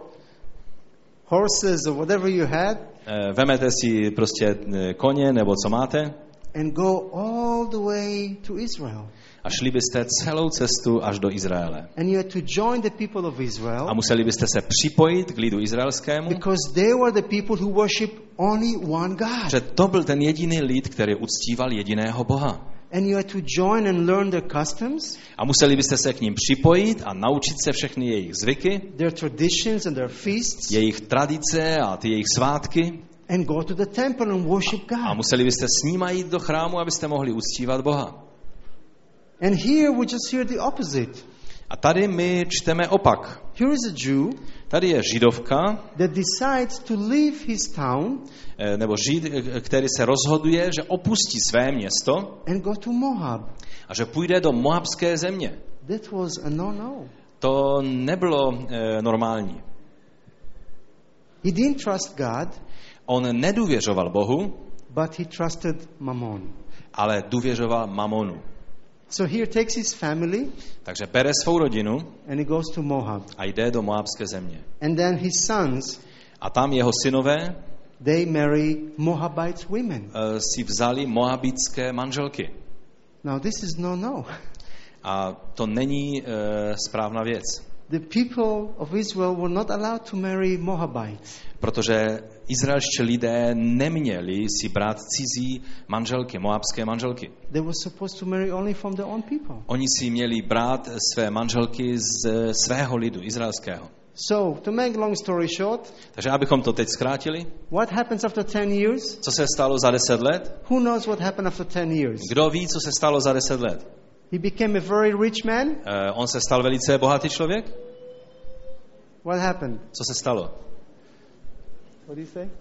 [SPEAKER 1] horses or whatever you had
[SPEAKER 2] E, vemete si prostě koně nebo co máte
[SPEAKER 1] and go all the way to Israel.
[SPEAKER 2] a šli byste celou cestu až do Izraele.
[SPEAKER 1] And you had to join the people of Israel
[SPEAKER 2] A museli byste se připojit k lidu izraelskému,
[SPEAKER 1] because they were the people who worship only one God.
[SPEAKER 2] že to byl ten jediný lid, který uctíval jediného Boha.
[SPEAKER 1] And you had to join and learn their customs,
[SPEAKER 2] A museli byste se k ním připojit a naučit se všechny jejich zvyky,
[SPEAKER 1] their traditions and their feasts,
[SPEAKER 2] jejich tradice a ty jejich svátky.
[SPEAKER 1] and go to the temple and worship
[SPEAKER 2] A
[SPEAKER 1] God.
[SPEAKER 2] museli byste s nima jít do chrámu, abyste mohli uctívat Boha.
[SPEAKER 1] And here we just hear the opposite.
[SPEAKER 2] A tady my čteme opak.
[SPEAKER 1] Here is a Jew
[SPEAKER 2] Tady je židovka,
[SPEAKER 1] that decides to leave his town
[SPEAKER 2] eh, nebo žid, eh, který se rozhoduje, že opustí své město
[SPEAKER 1] and go to Moab.
[SPEAKER 2] a že půjde do moabské země.
[SPEAKER 1] That was a no-no.
[SPEAKER 2] To nebylo eh, normální.
[SPEAKER 1] He didn't trust God,
[SPEAKER 2] On nedůvěřoval Bohu,
[SPEAKER 1] but he trusted Mammon.
[SPEAKER 2] ale důvěřoval mamonu.
[SPEAKER 1] So here takes his family
[SPEAKER 2] Takže bere svou rodinu
[SPEAKER 1] and he goes to Moab.
[SPEAKER 2] a jde do moabské země.
[SPEAKER 1] And then his sons,
[SPEAKER 2] A tam jeho synové
[SPEAKER 1] they marry Moabite women.
[SPEAKER 2] uh, si vzali moabitské manželky.
[SPEAKER 1] Now this is no no.
[SPEAKER 2] A to není uh, správná věc.
[SPEAKER 1] The people of Israel were not allowed to marry Moabites.
[SPEAKER 2] Protože izraelští lidé neměli si brát cizí manželky, moabské manželky.
[SPEAKER 1] They were supposed to marry only from their own people.
[SPEAKER 2] Oni si měli brát své manželky z svého lidu, izraelského.
[SPEAKER 1] So, to make long story short,
[SPEAKER 2] Takže abychom to teď zkrátili,
[SPEAKER 1] what happens after ten years?
[SPEAKER 2] co se stalo za deset let?
[SPEAKER 1] Who knows what happened after ten years?
[SPEAKER 2] Kdo ví, co se stalo za deset let?
[SPEAKER 1] He became a very rich man.
[SPEAKER 2] Uh, on se stal velice bohatý člověk?
[SPEAKER 1] What happened?
[SPEAKER 2] Co se stalo?
[SPEAKER 1] What do you say?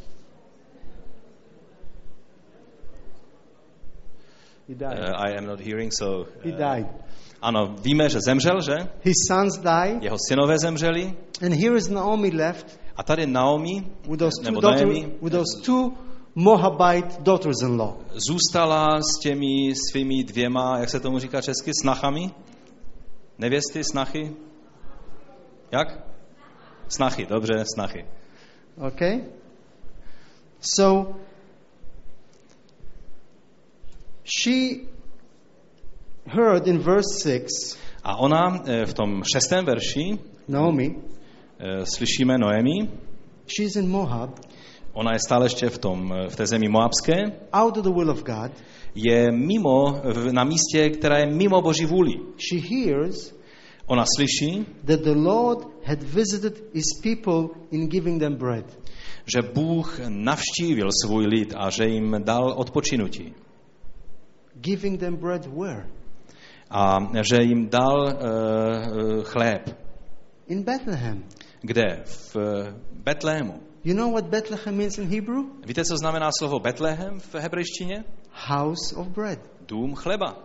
[SPEAKER 1] He died.
[SPEAKER 2] Uh, I am not hearing, so... Uh,
[SPEAKER 1] He died.
[SPEAKER 2] Ano, víme, že zemřel, že?
[SPEAKER 1] His sons died.
[SPEAKER 2] Jeho synové zemřeli.
[SPEAKER 1] And here is Naomi left
[SPEAKER 2] A tady Naomi,
[SPEAKER 1] with those two,
[SPEAKER 2] nebo
[SPEAKER 1] daughter,
[SPEAKER 2] Naomi,
[SPEAKER 1] with those two Moabite daughters-in-law.
[SPEAKER 2] zůstala s těmi svými dvěma, jak se tomu říká česky, snachami? Nevěsty, snachy? Jak? Snachy, dobře, snachy.
[SPEAKER 1] Okay? So, she heard in verse six,
[SPEAKER 2] A ona eh, v tom šestém verši
[SPEAKER 1] Naomi,
[SPEAKER 2] eh, slyšíme Noemi,
[SPEAKER 1] she's in Moab,
[SPEAKER 2] ona je stále ještě v, tom, eh, v té zemi moabské,
[SPEAKER 1] out of the will of God.
[SPEAKER 2] je mimo, v- na místě, která je mimo Boží vůli.
[SPEAKER 1] She hears
[SPEAKER 2] Ona slyší,
[SPEAKER 1] that the Lord had visited his people in giving them bread.
[SPEAKER 2] že Bůh navštívil svůj lid a že jim dal odpočinutí.
[SPEAKER 1] Giving them bread where?
[SPEAKER 2] A že jim dal uh, chléb.
[SPEAKER 1] In Bethlehem.
[SPEAKER 2] Kde? V uh, Betlému.
[SPEAKER 1] You know what Bethlehem means in Hebrew?
[SPEAKER 2] Víte, co znamená slovo Betlehem v hebrejštině?
[SPEAKER 1] House of bread.
[SPEAKER 2] Dům chleba.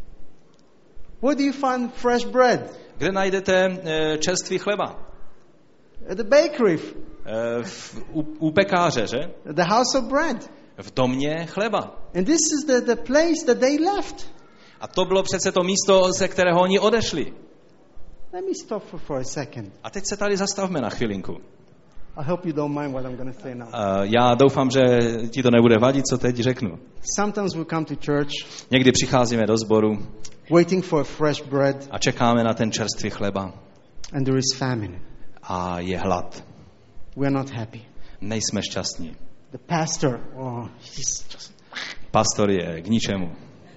[SPEAKER 1] Where do you find fresh bread?
[SPEAKER 2] Kde najdete uh, čerstvý chleba?
[SPEAKER 1] At the bakery.
[SPEAKER 2] Uh, v, u, u pekáře, že?
[SPEAKER 1] The house of bread.
[SPEAKER 2] V domě chleba.
[SPEAKER 1] And this is the, the place that they left.
[SPEAKER 2] A to bylo přece to místo, ze kterého oni odešli.
[SPEAKER 1] Let me stop for, for a second.
[SPEAKER 2] A teď se tady zastavme na chvilinku.
[SPEAKER 1] I hope you don't mind what I'm going to say now.
[SPEAKER 2] Uh, já doufám, že ti to nebude vadit, co teď řeknu.
[SPEAKER 1] Sometimes we come to church
[SPEAKER 2] Někdy přicházíme do sboru
[SPEAKER 1] waiting for a fresh bread
[SPEAKER 2] a čekáme na ten čerstvý chleba
[SPEAKER 1] and there is famine.
[SPEAKER 2] a je hlad.
[SPEAKER 1] We are not happy.
[SPEAKER 2] Nejsme šťastní.
[SPEAKER 1] The pastor, oh, he's just,
[SPEAKER 2] Pastor je k ničemu.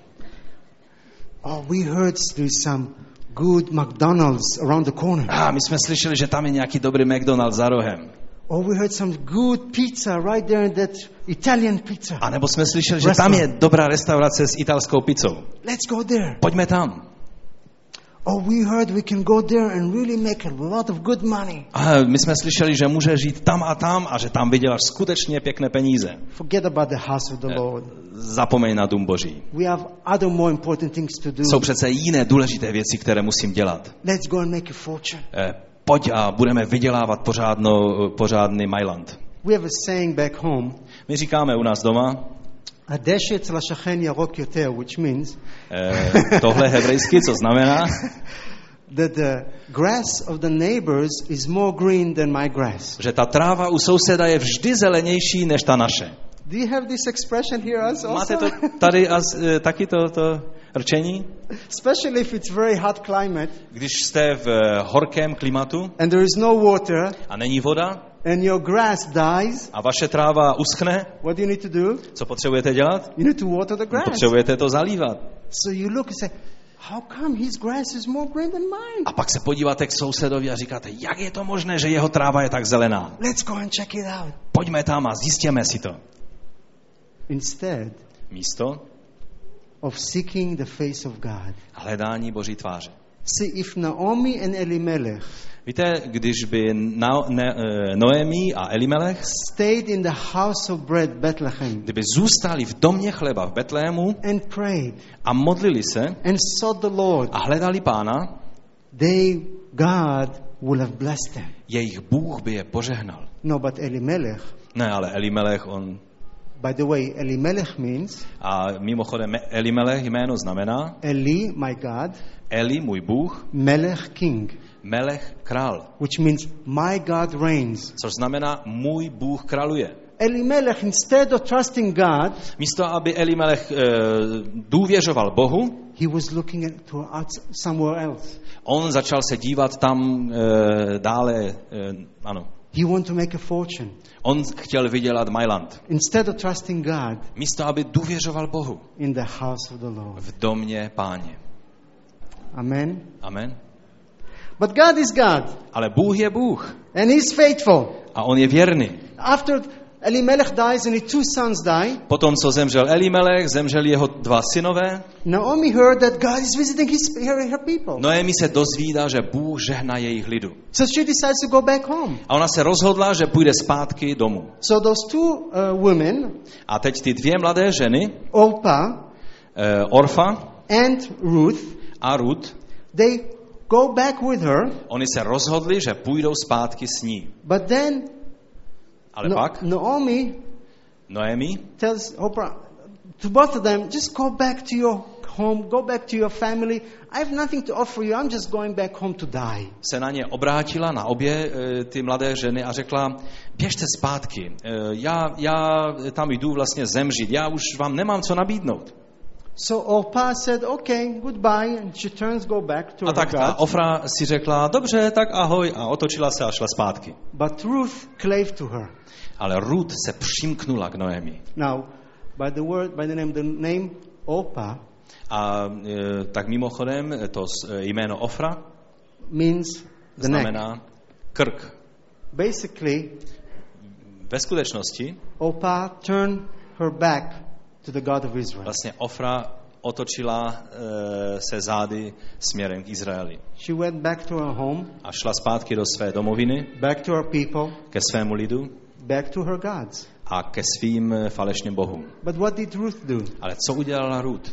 [SPEAKER 1] oh, we heard there's some good McDonald's around the corner.
[SPEAKER 2] A my jsme slyšeli, že tam je nějaký dobrý McDonald's za rohem.
[SPEAKER 1] Oh, we heard some good pizza right there in that Italian pizza.
[SPEAKER 2] A nebo jsme slyšeli, že tam je dobrá restaurace s italskou pizzou.
[SPEAKER 1] Let's go there.
[SPEAKER 2] Pojďme tam.
[SPEAKER 1] Oh, we heard we can go there and really make a lot of good money.
[SPEAKER 2] A my jsme slyšeli, že může žít tam a tam a že tam vyděláš skutečně pěkné peníze.
[SPEAKER 1] Forget about the house of the Lord.
[SPEAKER 2] Zapomeň na dům Boží.
[SPEAKER 1] We have other more important things to do.
[SPEAKER 2] Jsou přece jiné důležité věci, které musím dělat.
[SPEAKER 1] Let's go and make a fortune.
[SPEAKER 2] Eh, pojď a budeme vydělávat pořádnou, pořádný Mailand.
[SPEAKER 1] We have a saying back home,
[SPEAKER 2] My říkáme u nás doma,
[SPEAKER 1] הדשא אצל השכן ירוק יותר, which means
[SPEAKER 2] eh, tohle hebrejsky, co znamená,
[SPEAKER 1] that the grass of the neighbors is more green than my grass.
[SPEAKER 2] že ta tráva u souseda je vždy zelenější než ta naše.
[SPEAKER 1] Do you have this expression here also?
[SPEAKER 2] Máte to tady as, eh, taky to, to rčení?
[SPEAKER 1] Especially if it's very hot climate
[SPEAKER 2] Když jste v eh, horkém klimatu
[SPEAKER 1] and there is no water
[SPEAKER 2] a není voda
[SPEAKER 1] and your grass dies,
[SPEAKER 2] a vaše tráva uschne,
[SPEAKER 1] what do you need to do?
[SPEAKER 2] co potřebujete dělat?
[SPEAKER 1] You need to water the grass.
[SPEAKER 2] Potřebujete to zalívat.
[SPEAKER 1] So you look and say, how come his grass is more green than mine?
[SPEAKER 2] A pak se podíváte k sousedovi a říkáte, jak je to možné, že jeho tráva je tak zelená?
[SPEAKER 1] Let's go and check it out.
[SPEAKER 2] Pojďme tam a zjistěme si to.
[SPEAKER 1] Instead
[SPEAKER 2] Místo
[SPEAKER 1] of seeking the face of God.
[SPEAKER 2] hledání Boží tváře.
[SPEAKER 1] See, if Naomi and Elimelech
[SPEAKER 2] Víte, když by Na, ne, Noemi a Elimelech,
[SPEAKER 1] stayed in the house of bread, Bethlehem,
[SPEAKER 2] kdyby zůstali v domě chleba v Betlému
[SPEAKER 1] and prayed
[SPEAKER 2] a modlili se
[SPEAKER 1] and sought the Lord,
[SPEAKER 2] a hledali Pána,
[SPEAKER 1] they, God will have blessed them.
[SPEAKER 2] Jejich Bůh by je požehnal.
[SPEAKER 1] No, but Elimelech,
[SPEAKER 2] Ne, ale Elimelech, on...
[SPEAKER 1] by the way, Elimelech means
[SPEAKER 2] A mimochodem Elimelech jméno znamená
[SPEAKER 1] Eli, my God,
[SPEAKER 2] Eli, můj Bůh,
[SPEAKER 1] Melech, king,
[SPEAKER 2] Melech, král.
[SPEAKER 1] which means my God reigns.
[SPEAKER 2] Což znamená můj Bůh králuje.
[SPEAKER 1] Elimelech, instead of trusting God,
[SPEAKER 2] Místo, aby Elimelech e, důvěřoval Bohu,
[SPEAKER 1] he was looking at to out somewhere else.
[SPEAKER 2] on začal se dívat tam e, dále, e, ano.
[SPEAKER 1] He wanted to make a fortune.
[SPEAKER 2] On chtěl vydělat Mailand.
[SPEAKER 1] Instead of trusting God
[SPEAKER 2] Místo, aby důvěřoval Bohu
[SPEAKER 1] in the house of the Lord.
[SPEAKER 2] v domě Páně.
[SPEAKER 1] Amen.
[SPEAKER 2] Amen.
[SPEAKER 1] But God is God,
[SPEAKER 2] Ale Bůh je Bůh
[SPEAKER 1] and He's faithful.
[SPEAKER 2] a on je věrný.
[SPEAKER 1] After Elimelech dies and his two sons die,
[SPEAKER 2] Potom, co zemřel Elimelech, zemřeli jeho dva synové.
[SPEAKER 1] Naomi heard that God is visiting his, her, her people.
[SPEAKER 2] Noemi se dozvídá, že Bůh žehná jejich lidu.
[SPEAKER 1] So she decides to go back home.
[SPEAKER 2] A ona se rozhodla, že půjde zpátky domů.
[SPEAKER 1] So those two uh, women,
[SPEAKER 2] A teď ty dvě mladé ženy,
[SPEAKER 1] Orpah
[SPEAKER 2] eh, Orfa
[SPEAKER 1] and Ruth,
[SPEAKER 2] a Ruth,
[SPEAKER 1] they go back with her,
[SPEAKER 2] oni se rozhodli, že půjdou zpátky s ní.
[SPEAKER 1] but then
[SPEAKER 2] Ale
[SPEAKER 1] no,
[SPEAKER 2] pak
[SPEAKER 1] Naomi
[SPEAKER 2] Noemi
[SPEAKER 1] tells Oprah, to both of them, just go back to your home, go back to your family. I have nothing to offer you. I'm just going back home to die.
[SPEAKER 2] se na ně obrátila, na obě eh, ty mladé ženy a řekla, běžte zpátky, eh, já, já tam jdu vlastně zemřít, já už vám nemám co nabídnout.
[SPEAKER 1] So Orpah said, okay, goodbye, and she turns, go back to
[SPEAKER 2] A
[SPEAKER 1] her
[SPEAKER 2] tak ta
[SPEAKER 1] God.
[SPEAKER 2] Ofra si řekla, dobře, tak ahoj, a otočila se a šla zpátky.
[SPEAKER 1] But Ruth clave to her.
[SPEAKER 2] Ale Ruth se přimknula k Noemi.
[SPEAKER 1] Now, by the word, by the name, the name Orpah
[SPEAKER 2] A e, tak mimochodem to e, jméno Ofra
[SPEAKER 1] means the neck.
[SPEAKER 2] znamená krk.
[SPEAKER 1] Basically,
[SPEAKER 2] Ve skutečnosti
[SPEAKER 1] Orpah turned her back to the God of Israel.
[SPEAKER 2] vlastně Ofra otočila e, se zády směrem k Izraeli.
[SPEAKER 1] She went back to her home,
[SPEAKER 2] A šla zpátky do své domoviny,
[SPEAKER 1] back to her people,
[SPEAKER 2] ke svému lidu
[SPEAKER 1] back to her gods.
[SPEAKER 2] a ke svým falešným bohům.
[SPEAKER 1] But what did Ruth do?
[SPEAKER 2] Ale co udělala Ruth?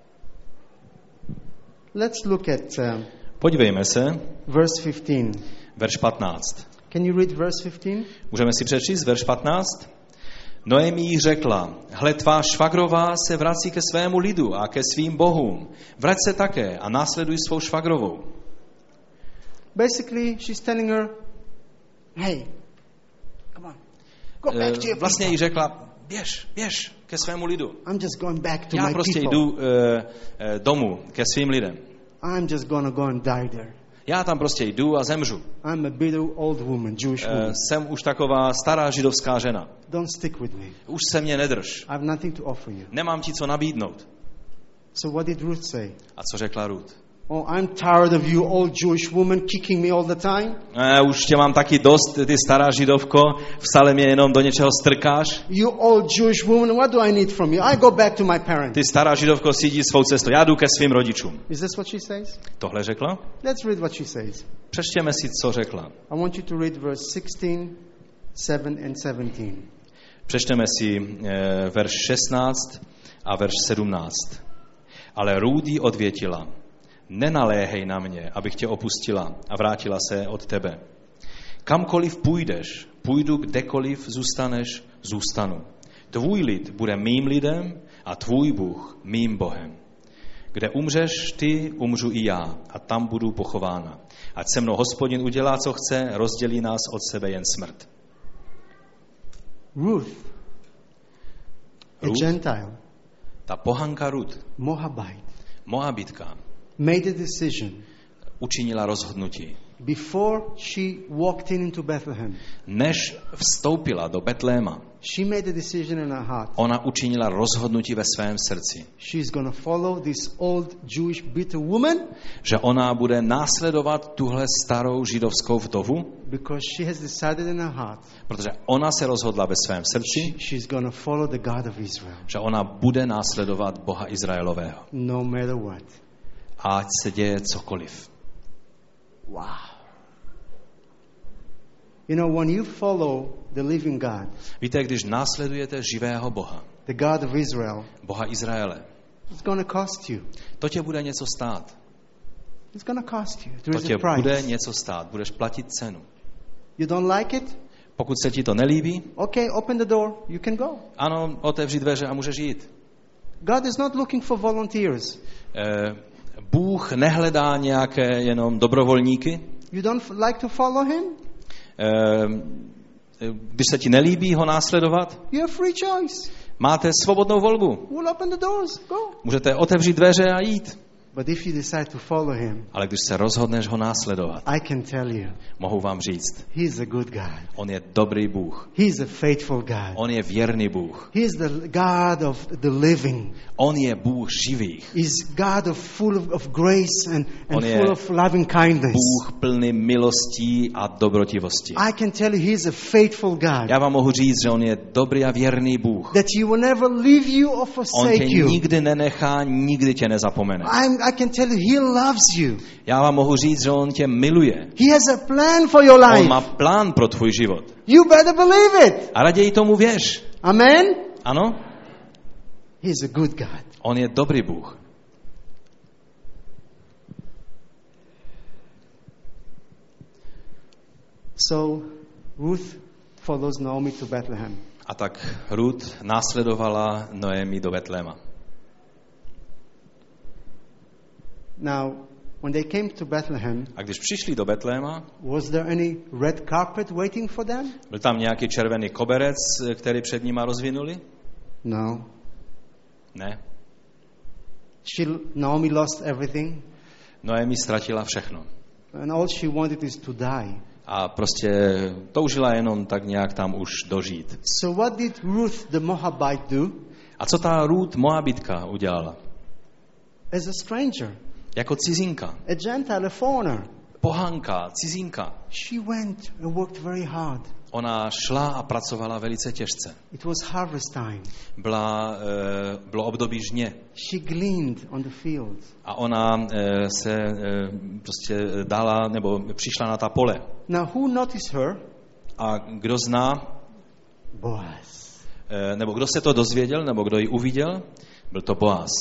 [SPEAKER 1] Let's look at uh,
[SPEAKER 2] Podívejme se,
[SPEAKER 1] verse fifteen.
[SPEAKER 2] verš patnáct.
[SPEAKER 1] Can you read verse fifteen?
[SPEAKER 2] Můžeme si přečíst verš patnáct? Noemi jí řekla, hle, tvá švagrová se vrací ke svému lidu a ke svým bohům. Vrať se také a následuj svou švagrovou.
[SPEAKER 1] Basically, she's telling her, hey, come on, go back to your
[SPEAKER 2] Vlastně jí
[SPEAKER 1] people.
[SPEAKER 2] řekla, běž, běž ke svému lidu.
[SPEAKER 1] I'm just going back to
[SPEAKER 2] Já
[SPEAKER 1] my
[SPEAKER 2] prostě
[SPEAKER 1] people.
[SPEAKER 2] jdu uh, uh, domů ke svým lidem.
[SPEAKER 1] I'm just gonna go and die there.
[SPEAKER 2] Já tam prostě jdu a zemřu.
[SPEAKER 1] I'm a bitter old woman, Jewish
[SPEAKER 2] Uh,
[SPEAKER 1] woman.
[SPEAKER 2] jsem už taková stará židovská žena.
[SPEAKER 1] Don't stick with me.
[SPEAKER 2] Už se mě nedrž.
[SPEAKER 1] I have nothing to offer you.
[SPEAKER 2] Nemám ti co nabídnout.
[SPEAKER 1] So what did Ruth say?
[SPEAKER 2] A co řekla Ruth?
[SPEAKER 1] Oh, I'm tired of you old Jewish woman kicking me all the time.
[SPEAKER 2] E, už tě mám taky dost, ty stará židovko, vsale mě jenom do něčeho strkáš.
[SPEAKER 1] You old Jewish woman, what do I need from you? I go back to my parents.
[SPEAKER 2] Ty stará židovko si jdi svou cestou, já jdu ke svým rodičům.
[SPEAKER 1] Is this what she says?
[SPEAKER 2] Tohle řekla?
[SPEAKER 1] Let's read what she says.
[SPEAKER 2] Přečtěme si, co řekla.
[SPEAKER 1] I want you to read verse sixteen, seven and seventeen.
[SPEAKER 2] Přečteme si e, verš šestnáct a verš sedmnáct. Ale Rúdy odvětila, nenaléhej na mě, abych tě opustila a vrátila se od tebe. Kamkoliv půjdeš, půjdu, kdekoliv zůstaneš, zůstanu. Tvůj lid bude mým lidem a tvůj Bůh mým Bohem. Kde umřeš ty, umřu i já a tam budu pochována. Ať se mnou Hospodin udělá, co chce, rozdělí nás od sebe jen smrt.
[SPEAKER 1] Ruth, a
[SPEAKER 2] Ruth,
[SPEAKER 1] Gentile,
[SPEAKER 2] ta pohanka Ruth,
[SPEAKER 1] Moabite,
[SPEAKER 2] Moabitka,
[SPEAKER 1] made a decision
[SPEAKER 2] učinila rozhodnutí.
[SPEAKER 1] before she walked in into Bethlehem.
[SPEAKER 2] Než vstoupila do Betléma,
[SPEAKER 1] She made a decision in her heart.
[SPEAKER 2] ona učinila rozhodnutí ve svém srdci,
[SPEAKER 1] She's going to follow this old Jewish bitter woman
[SPEAKER 2] že ona bude následovat tuhle starou židovskou vdovu,
[SPEAKER 1] because she has decided in her heart
[SPEAKER 2] protože ona se rozhodla ve svém srdci,
[SPEAKER 1] she's going to follow the God of Israel
[SPEAKER 2] že ona bude následovat Boha Izraelového.
[SPEAKER 1] no matter what.
[SPEAKER 2] Ať se děje cokoliv.
[SPEAKER 1] Wow. You know, when you follow the living God,
[SPEAKER 2] Víte, když následujete živého Boha,
[SPEAKER 1] the God of Israel,
[SPEAKER 2] Boha Izraele,
[SPEAKER 1] it's going to cost you.
[SPEAKER 2] to tě bude něco stát.
[SPEAKER 1] It's going to cost you. There
[SPEAKER 2] To
[SPEAKER 1] is
[SPEAKER 2] tě
[SPEAKER 1] a
[SPEAKER 2] bude
[SPEAKER 1] price.
[SPEAKER 2] něco stát, budeš platit cenu.
[SPEAKER 1] You don't like it?
[SPEAKER 2] Pokud se ti to nelíbí,
[SPEAKER 1] Okay, open the door. You can go.
[SPEAKER 2] ano, otevři dveře a můžeš jít.
[SPEAKER 1] God is not looking for volunteers.
[SPEAKER 2] Eh, Bůh nehledá nějaké jenom dobrovolníky.
[SPEAKER 1] You don't f- like to follow him?
[SPEAKER 2] Eh, Když se ti nelíbí ho následovat,
[SPEAKER 1] You have free choice.
[SPEAKER 2] máte svobodnou volbu.
[SPEAKER 1] We'll open the doors. Go.
[SPEAKER 2] Můžete otevřít dveře a jít.
[SPEAKER 1] But if you decide to follow him,
[SPEAKER 2] Ale když se rozhodneš ho následovat,
[SPEAKER 1] I can tell you,
[SPEAKER 2] mohu vám říct,
[SPEAKER 1] he's a good God.
[SPEAKER 2] on je dobrý Bůh.
[SPEAKER 1] He's a faithful God.
[SPEAKER 2] On je věrný Bůh.
[SPEAKER 1] He's the God of the living.
[SPEAKER 2] On je Bůh živých.
[SPEAKER 1] He's God of full of, of grace and, and
[SPEAKER 2] On je
[SPEAKER 1] full of loving kindness.
[SPEAKER 2] Bůh plný milostí a dobrotivosti.
[SPEAKER 1] I can tell you he's a faithful God.
[SPEAKER 2] Já vám mohu říct, že on je dobrý a věrný Bůh.
[SPEAKER 1] That he will never leave you or
[SPEAKER 2] On
[SPEAKER 1] forsake
[SPEAKER 2] tě
[SPEAKER 1] you.
[SPEAKER 2] nikdy nenechá, nikdy tě nezapomene.
[SPEAKER 1] I'm, I can tell you he loves you.
[SPEAKER 2] Já vám mohu říct, že on tě miluje.
[SPEAKER 1] He has a plan for your
[SPEAKER 2] On
[SPEAKER 1] life.
[SPEAKER 2] má plán pro tvůj život.
[SPEAKER 1] You better believe it.
[SPEAKER 2] A raději tomu věř.
[SPEAKER 1] Amen?
[SPEAKER 2] Ano?
[SPEAKER 1] He's a good God.
[SPEAKER 2] On je dobrý Bůh.
[SPEAKER 1] So Ruth follows Naomi to Bethlehem.
[SPEAKER 2] A tak Ruth následovala Noemi do Betléma.
[SPEAKER 1] Now, when they came to Bethlehem,
[SPEAKER 2] A když přišli do Betléma,
[SPEAKER 1] was there any red carpet waiting for them?
[SPEAKER 2] byl tam nějaký červený koberec, který před nima rozvinuli?
[SPEAKER 1] No.
[SPEAKER 2] Ne.
[SPEAKER 1] She, Naomi lost everything,
[SPEAKER 2] Noemi ztratila všechno.
[SPEAKER 1] and all she wanted is to die.
[SPEAKER 2] A prostě toužila jenom tak nějak tam už dožít.
[SPEAKER 1] So what did Ruth the Moabite do?
[SPEAKER 2] A co ta Ruth Moabitka udělala?
[SPEAKER 1] As a stranger,
[SPEAKER 2] Jako cizinka,
[SPEAKER 1] a Gentile, a foreigner,
[SPEAKER 2] pohanka, cizinka.
[SPEAKER 1] she went and worked very hard.
[SPEAKER 2] Ona šla a pracovala velice těžce.
[SPEAKER 1] It was harvest time.
[SPEAKER 2] Byla, e, bylo období žně.
[SPEAKER 1] She gleaned on the fields.
[SPEAKER 2] A ona e, se e, prostě dala, nebo přišla na ta pole.
[SPEAKER 1] Now, who noticed her?
[SPEAKER 2] A kdo zná,
[SPEAKER 1] Boaz.
[SPEAKER 2] e, nebo kdo se to dozvěděl, nebo kdo ji uviděl, byl to Boaz.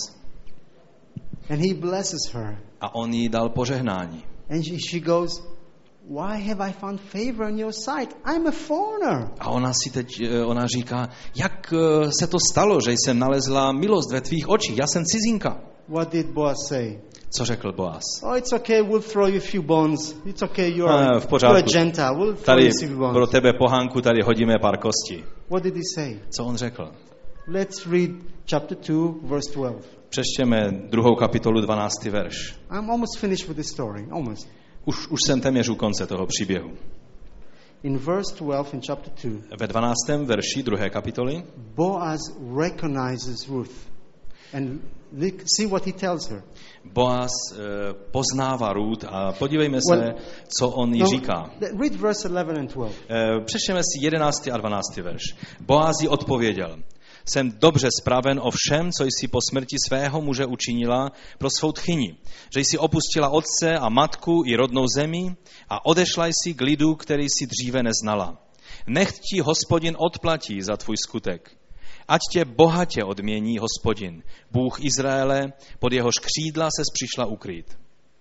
[SPEAKER 1] And he blesses her.
[SPEAKER 2] A on jí dal požehnání.
[SPEAKER 1] And she, she goes, why have I found favor in your sight? I'm a foreigner.
[SPEAKER 2] A ona si teď, e, ona říká, jak e, se to stalo, že jsem nalezla milost ve tvých očích, já jsem cizinka.
[SPEAKER 1] What did Boaz say?
[SPEAKER 2] Co řekl Boaz?
[SPEAKER 1] Oh, it's okay, we'll throw you a few bones. It's okay, you're,
[SPEAKER 2] Ah, v
[SPEAKER 1] you're a
[SPEAKER 2] pořádku.
[SPEAKER 1] Gentile. We'll throw
[SPEAKER 2] Tady
[SPEAKER 1] you a few
[SPEAKER 2] pro
[SPEAKER 1] bones.
[SPEAKER 2] tebe pohánku tady hodíme pár kostí.
[SPEAKER 1] What did he say?
[SPEAKER 2] Co on řekl?
[SPEAKER 1] Let's read chapter two, verse twelve.
[SPEAKER 2] Přečtěme druhou kapitolu dvanáctý verš.
[SPEAKER 1] I'm almost finished with the story. Almost.
[SPEAKER 2] Už, už jsem téměř u konce toho příběhu.
[SPEAKER 1] In verse twelve in chapter two,
[SPEAKER 2] Ve dvanáctém verši druhé kapitoly
[SPEAKER 1] Boaz recognizes Ruth. And look, see what he tells her.
[SPEAKER 2] Boaz eh, poznává Ruth a podívejme se,
[SPEAKER 1] Well,
[SPEAKER 2] co on jí
[SPEAKER 1] No,
[SPEAKER 2] říká.
[SPEAKER 1] read verse eleven and twelve.
[SPEAKER 2] Eh, Přečtěme si jedenáctý a dvanáctý verš. Boaz jí odpověděl. Jsem dobře spraven o všem, co jsi po smrti svého muže učinila pro svou tchyni. Že jsi opustila otce a matku i rodnou zemi a odešla jsi k lidu, který jsi dříve neznala. Nechť ti Hospodin odplatí za tvůj skutek. Ať tě bohatě odmění Hospodin, Bůh Izraele, pod jehož křídla ses přišla ukrýt.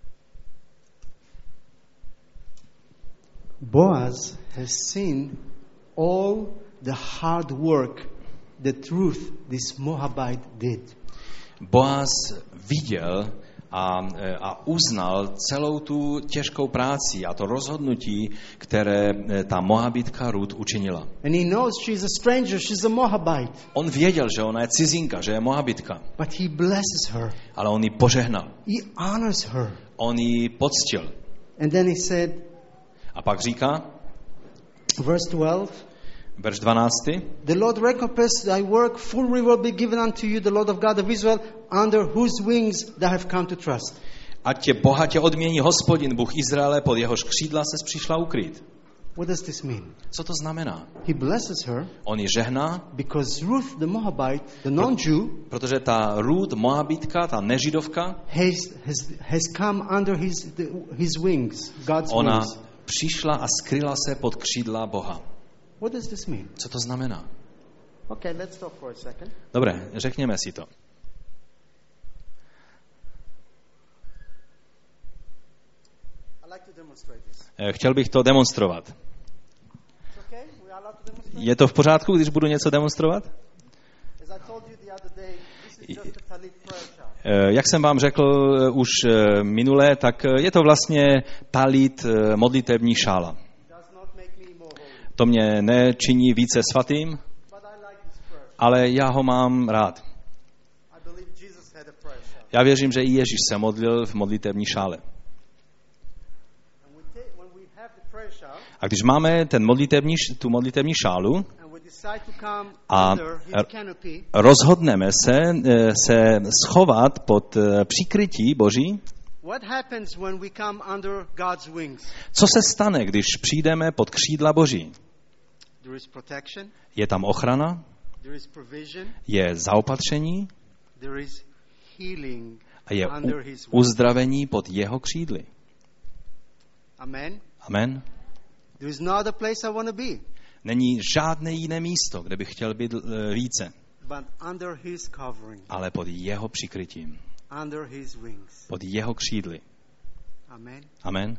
[SPEAKER 1] Boaz has seen all the hard work that Ruth, this Moabite, did.
[SPEAKER 2] Boaz viděl a, a uznal celou tu těžkou práci a to rozhodnutí, které ta Moabitka Ruth učinila.
[SPEAKER 1] And he knows she's a stranger, she's a Moabite.
[SPEAKER 2] On věděl, že ona je cizinka, že je Moabitka,
[SPEAKER 1] But he blesses her.
[SPEAKER 2] ale on ji požehnal.
[SPEAKER 1] He honors her.
[SPEAKER 2] On ji poctil.
[SPEAKER 1] And then he said,
[SPEAKER 2] A pak říká,
[SPEAKER 1] verse twelve,
[SPEAKER 2] verš dvanáctý,
[SPEAKER 1] the Lord recompense thy work, full reward be given unto you, the Lord of God of Israel, under whose wings thou have come to trust.
[SPEAKER 2] ať tě bohatě odmění Hospodin, Bůh Izraele, pod jehož křídla ses přišla ukrýt.
[SPEAKER 1] What does this mean?
[SPEAKER 2] Co to znamená?
[SPEAKER 1] He blesses her
[SPEAKER 2] On ji žehná,
[SPEAKER 1] because Ruth the Moabite, the non-Jew,
[SPEAKER 2] protože ta Ruth Moabitka, ta nežidovka,
[SPEAKER 1] has, has, has come under his, the, his wings, God's
[SPEAKER 2] ona
[SPEAKER 1] wings.
[SPEAKER 2] přišla a skryla se pod křídla Boha.
[SPEAKER 1] What does this mean?
[SPEAKER 2] Co to znamená?
[SPEAKER 1] Okay, let's stop for a second.
[SPEAKER 2] Dobré, řekněme si to. Chtěl bych to demonstrovat. Je to v pořádku, když budu něco demonstrovat? Jak jsem vám řekl už minule, tak je to vlastně talit, modlitevní šála. To mě nečiní více svatým, ale já ho mám rád. Já věřím, že i Ježíš se modlil v modlitevní šále. A když máme ten modlitevní, tu modlitevní šálu a rozhodneme se, se schovat pod příkrytí Boží, co se stane, když přijdeme pod křídla Boží? Je tam ochrana, je zaopatření a je uzdravení pod jeho křídly.
[SPEAKER 1] Amen.
[SPEAKER 2] Amen.
[SPEAKER 1] There is no other place I want to be.
[SPEAKER 2] Není žádné jiné místo, kde bych chtěl být více.
[SPEAKER 1] But under his covering.
[SPEAKER 2] Ale pod jeho přikrytím.
[SPEAKER 1] Under his wings.
[SPEAKER 2] Pod jeho křídly.
[SPEAKER 1] Amen.
[SPEAKER 2] Amen.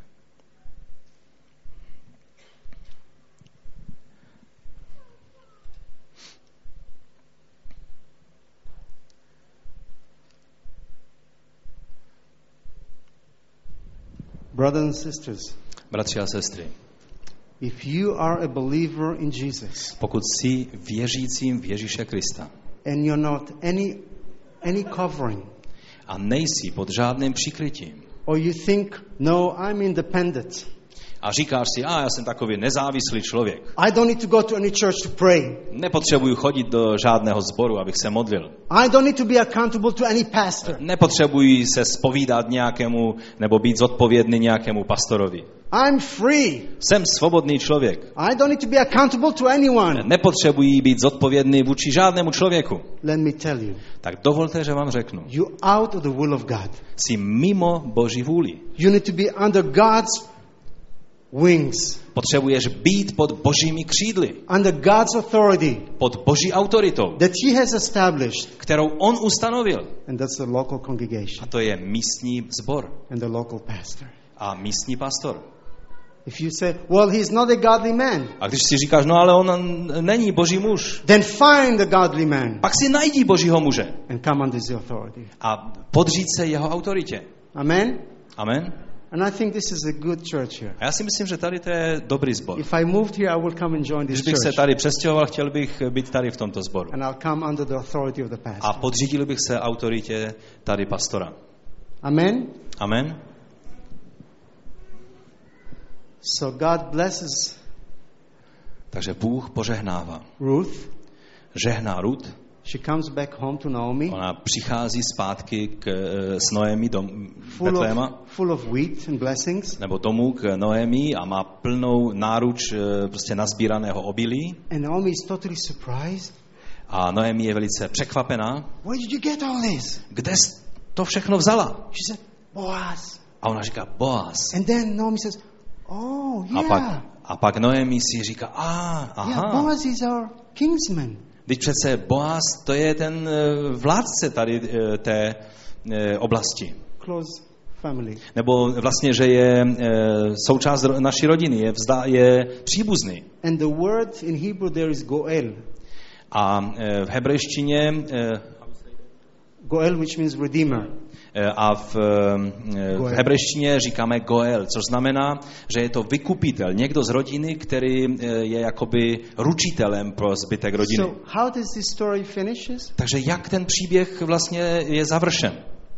[SPEAKER 1] Brothers and sisters.
[SPEAKER 2] Bratři a sestry.
[SPEAKER 1] If you are a believer in Jesus,
[SPEAKER 2] pokud jsi věřícím v Ježíše Krista,
[SPEAKER 1] and you're not any any covering,
[SPEAKER 2] a nejsi pod žádným přikrytím,
[SPEAKER 1] or you think, no, I'm independent,
[SPEAKER 2] a říkáš si, a já jsem takový nezávislý člověk,
[SPEAKER 1] I don't need to go to any church to pray,
[SPEAKER 2] nepotřebuji chodit do žádného sboru, abych se modlil,
[SPEAKER 1] I don't need to be accountable to any pastor,
[SPEAKER 2] nepotřebuji se zpovídat nějakému nebo být zodpovědný nějakému pastorovi,
[SPEAKER 1] I'm free,
[SPEAKER 2] jsem svobodný člověk,
[SPEAKER 1] I don't need to be accountable to anyone,
[SPEAKER 2] nepotřebuji být zodpovědný vůči žádnému člověku.
[SPEAKER 1] let me tell you,
[SPEAKER 2] tak dovolte, že vám řeknu,
[SPEAKER 1] you out of the will of God,
[SPEAKER 2] jsi mimo Boží vůli.
[SPEAKER 1] you need to be under God's wings,
[SPEAKER 2] potřebuješ být pod Božími křídly,
[SPEAKER 1] under God's authority,
[SPEAKER 2] pod Boží autoritou,
[SPEAKER 1] that he has established,
[SPEAKER 2] kterou on ustanovil.
[SPEAKER 1] and that's the local congregation
[SPEAKER 2] A to je místní sbor
[SPEAKER 1] and the local pastor.
[SPEAKER 2] a místní pastor.
[SPEAKER 1] If you say, well, he's not a godly man,
[SPEAKER 2] A když si říkáš, no ale on není Boží muž,
[SPEAKER 1] then find a godly man
[SPEAKER 2] pak si najdi Božího muže
[SPEAKER 1] and come under his authority.
[SPEAKER 2] a podříď se jeho autoritě.
[SPEAKER 1] Amen?
[SPEAKER 2] Amen.
[SPEAKER 1] And I think this is a good church here.
[SPEAKER 2] A já si myslím, že tady to je dobrý sbor.
[SPEAKER 1] If I moved here, I will come and join this
[SPEAKER 2] Když bych se
[SPEAKER 1] church.
[SPEAKER 2] tady přestěhoval, chtěl bych být tady v tomto sboru.
[SPEAKER 1] And I'll come under the authority of the
[SPEAKER 2] A
[SPEAKER 1] pastor.
[SPEAKER 2] podřídil bych se autoritě tady pastora.
[SPEAKER 1] Amen?
[SPEAKER 2] Amen.
[SPEAKER 1] So God blesses
[SPEAKER 2] Takže Bůh požehnává.
[SPEAKER 1] Ruth.
[SPEAKER 2] Žehná Ruth.
[SPEAKER 1] She comes back home to Naomi.
[SPEAKER 2] Ona přichází zpátky k, s Noemi do
[SPEAKER 1] Full
[SPEAKER 2] Betléma,
[SPEAKER 1] of, full of wheat and blessings.
[SPEAKER 2] nebo domů k Noemi a má plnou náruč prostě nazbíraného obilí.
[SPEAKER 1] And Naomi is totally surprised.
[SPEAKER 2] A Noemi je velice překvapená.
[SPEAKER 1] Where did you get all this?
[SPEAKER 2] Kde jsi to všechno vzala?
[SPEAKER 1] She said, Boaz.
[SPEAKER 2] A ona říká, Boaz.
[SPEAKER 1] And then Naomi says, oh, yeah.
[SPEAKER 2] A pak, a pak Noemi si říká, a, aha.
[SPEAKER 1] Yeah, Boaz is our kinsman.
[SPEAKER 2] Teď přece Boaz, to je ten vládce tady té oblasti.
[SPEAKER 1] Close family.
[SPEAKER 2] Nebo vlastně, že je součást naší rodiny, je, vzda, je příbuzný.
[SPEAKER 1] And the word in Hebrew there is Goel.
[SPEAKER 2] A v hebrejštině
[SPEAKER 1] Goel, which means redeemer.
[SPEAKER 2] A v, v hebrejštině říkáme Goel, což znamená, že je to vykupitel, někdo z rodiny, který je jakoby ručitelem pro zbytek rodiny.
[SPEAKER 1] So how does this story finishes?
[SPEAKER 2] Takže jak ten příběh vlastně je završen?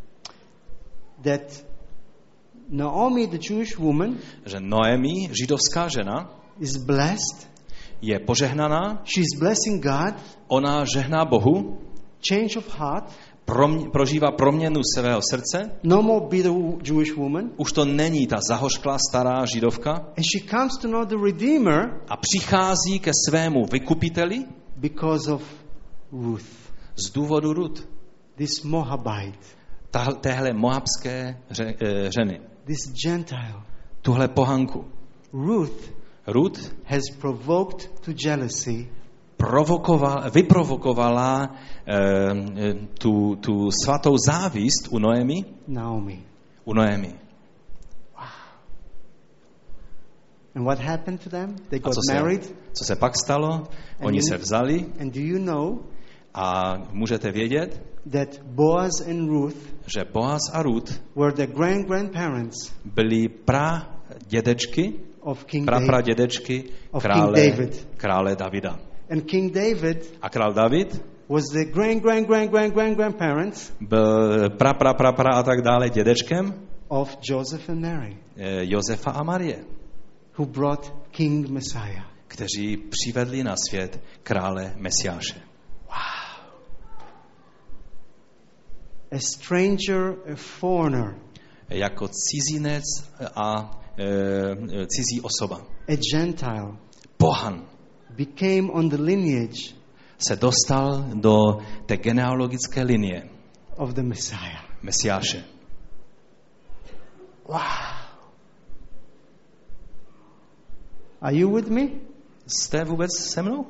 [SPEAKER 1] That Naomi, the Jewish woman,
[SPEAKER 2] že Noemi, židovská žena,
[SPEAKER 1] is blessed.
[SPEAKER 2] Je požehnaná.
[SPEAKER 1] She's blessing God.
[SPEAKER 2] Ona žehná Bohu.
[SPEAKER 1] Change of heart.
[SPEAKER 2] Promě, prožívá proměnu svého srdce.
[SPEAKER 1] No more bitter Jewish woman.
[SPEAKER 2] Už to není ta zahořklá stará židovka.
[SPEAKER 1] And she comes to know the Redeemer.
[SPEAKER 2] A přichází ke svému vykupiteli.
[SPEAKER 1] Because of Ruth.
[SPEAKER 2] Z důvodu Ruth.
[SPEAKER 1] This Moabite.
[SPEAKER 2] Tahle, téhle moabské ře, e, ženy.
[SPEAKER 1] This Gentile.
[SPEAKER 2] Tuhle pohanku.
[SPEAKER 1] Ruth.
[SPEAKER 2] Ruth
[SPEAKER 1] has provoked to jealousy.
[SPEAKER 2] Provokovala, vyprovokovala e, tu, tu svatou závist u Noemi.
[SPEAKER 1] Naomi.
[SPEAKER 2] U Noemi.
[SPEAKER 1] Wow. And what happened to them? They
[SPEAKER 2] A
[SPEAKER 1] got
[SPEAKER 2] co se,
[SPEAKER 1] married.
[SPEAKER 2] co se pak stalo? Oni
[SPEAKER 1] you-
[SPEAKER 2] se vzali
[SPEAKER 1] And do you know
[SPEAKER 2] a můžete vědět,
[SPEAKER 1] that Boaz and Ruth
[SPEAKER 2] že Boaz a Ruth
[SPEAKER 1] were the grand grandparents
[SPEAKER 2] byli pra dědečky,
[SPEAKER 1] of King
[SPEAKER 2] pra pra
[SPEAKER 1] David?
[SPEAKER 2] dědečky
[SPEAKER 1] Of
[SPEAKER 2] krále,
[SPEAKER 1] King David.
[SPEAKER 2] krále Davida.
[SPEAKER 1] And King David
[SPEAKER 2] A král David
[SPEAKER 1] was the grand grand grand grand grand grandparents
[SPEAKER 2] byl pra pra pra pra a tak dále dědečkem
[SPEAKER 1] of Joseph and Mary,
[SPEAKER 2] eh, Josefa a Marie,
[SPEAKER 1] who brought King Messiah.
[SPEAKER 2] kteří přivedli na svět krále Mesiáše.
[SPEAKER 1] A stranger, a foreigner,
[SPEAKER 2] Jako cizinec a e, cizí osoba.
[SPEAKER 1] a Gentile
[SPEAKER 2] Pohan
[SPEAKER 1] became on the lineage
[SPEAKER 2] se dostal do té genealogické linie
[SPEAKER 1] of the Messiah.
[SPEAKER 2] Mesiáše.
[SPEAKER 1] Wow. Are you with me?
[SPEAKER 2] Jste vůbec se mnou?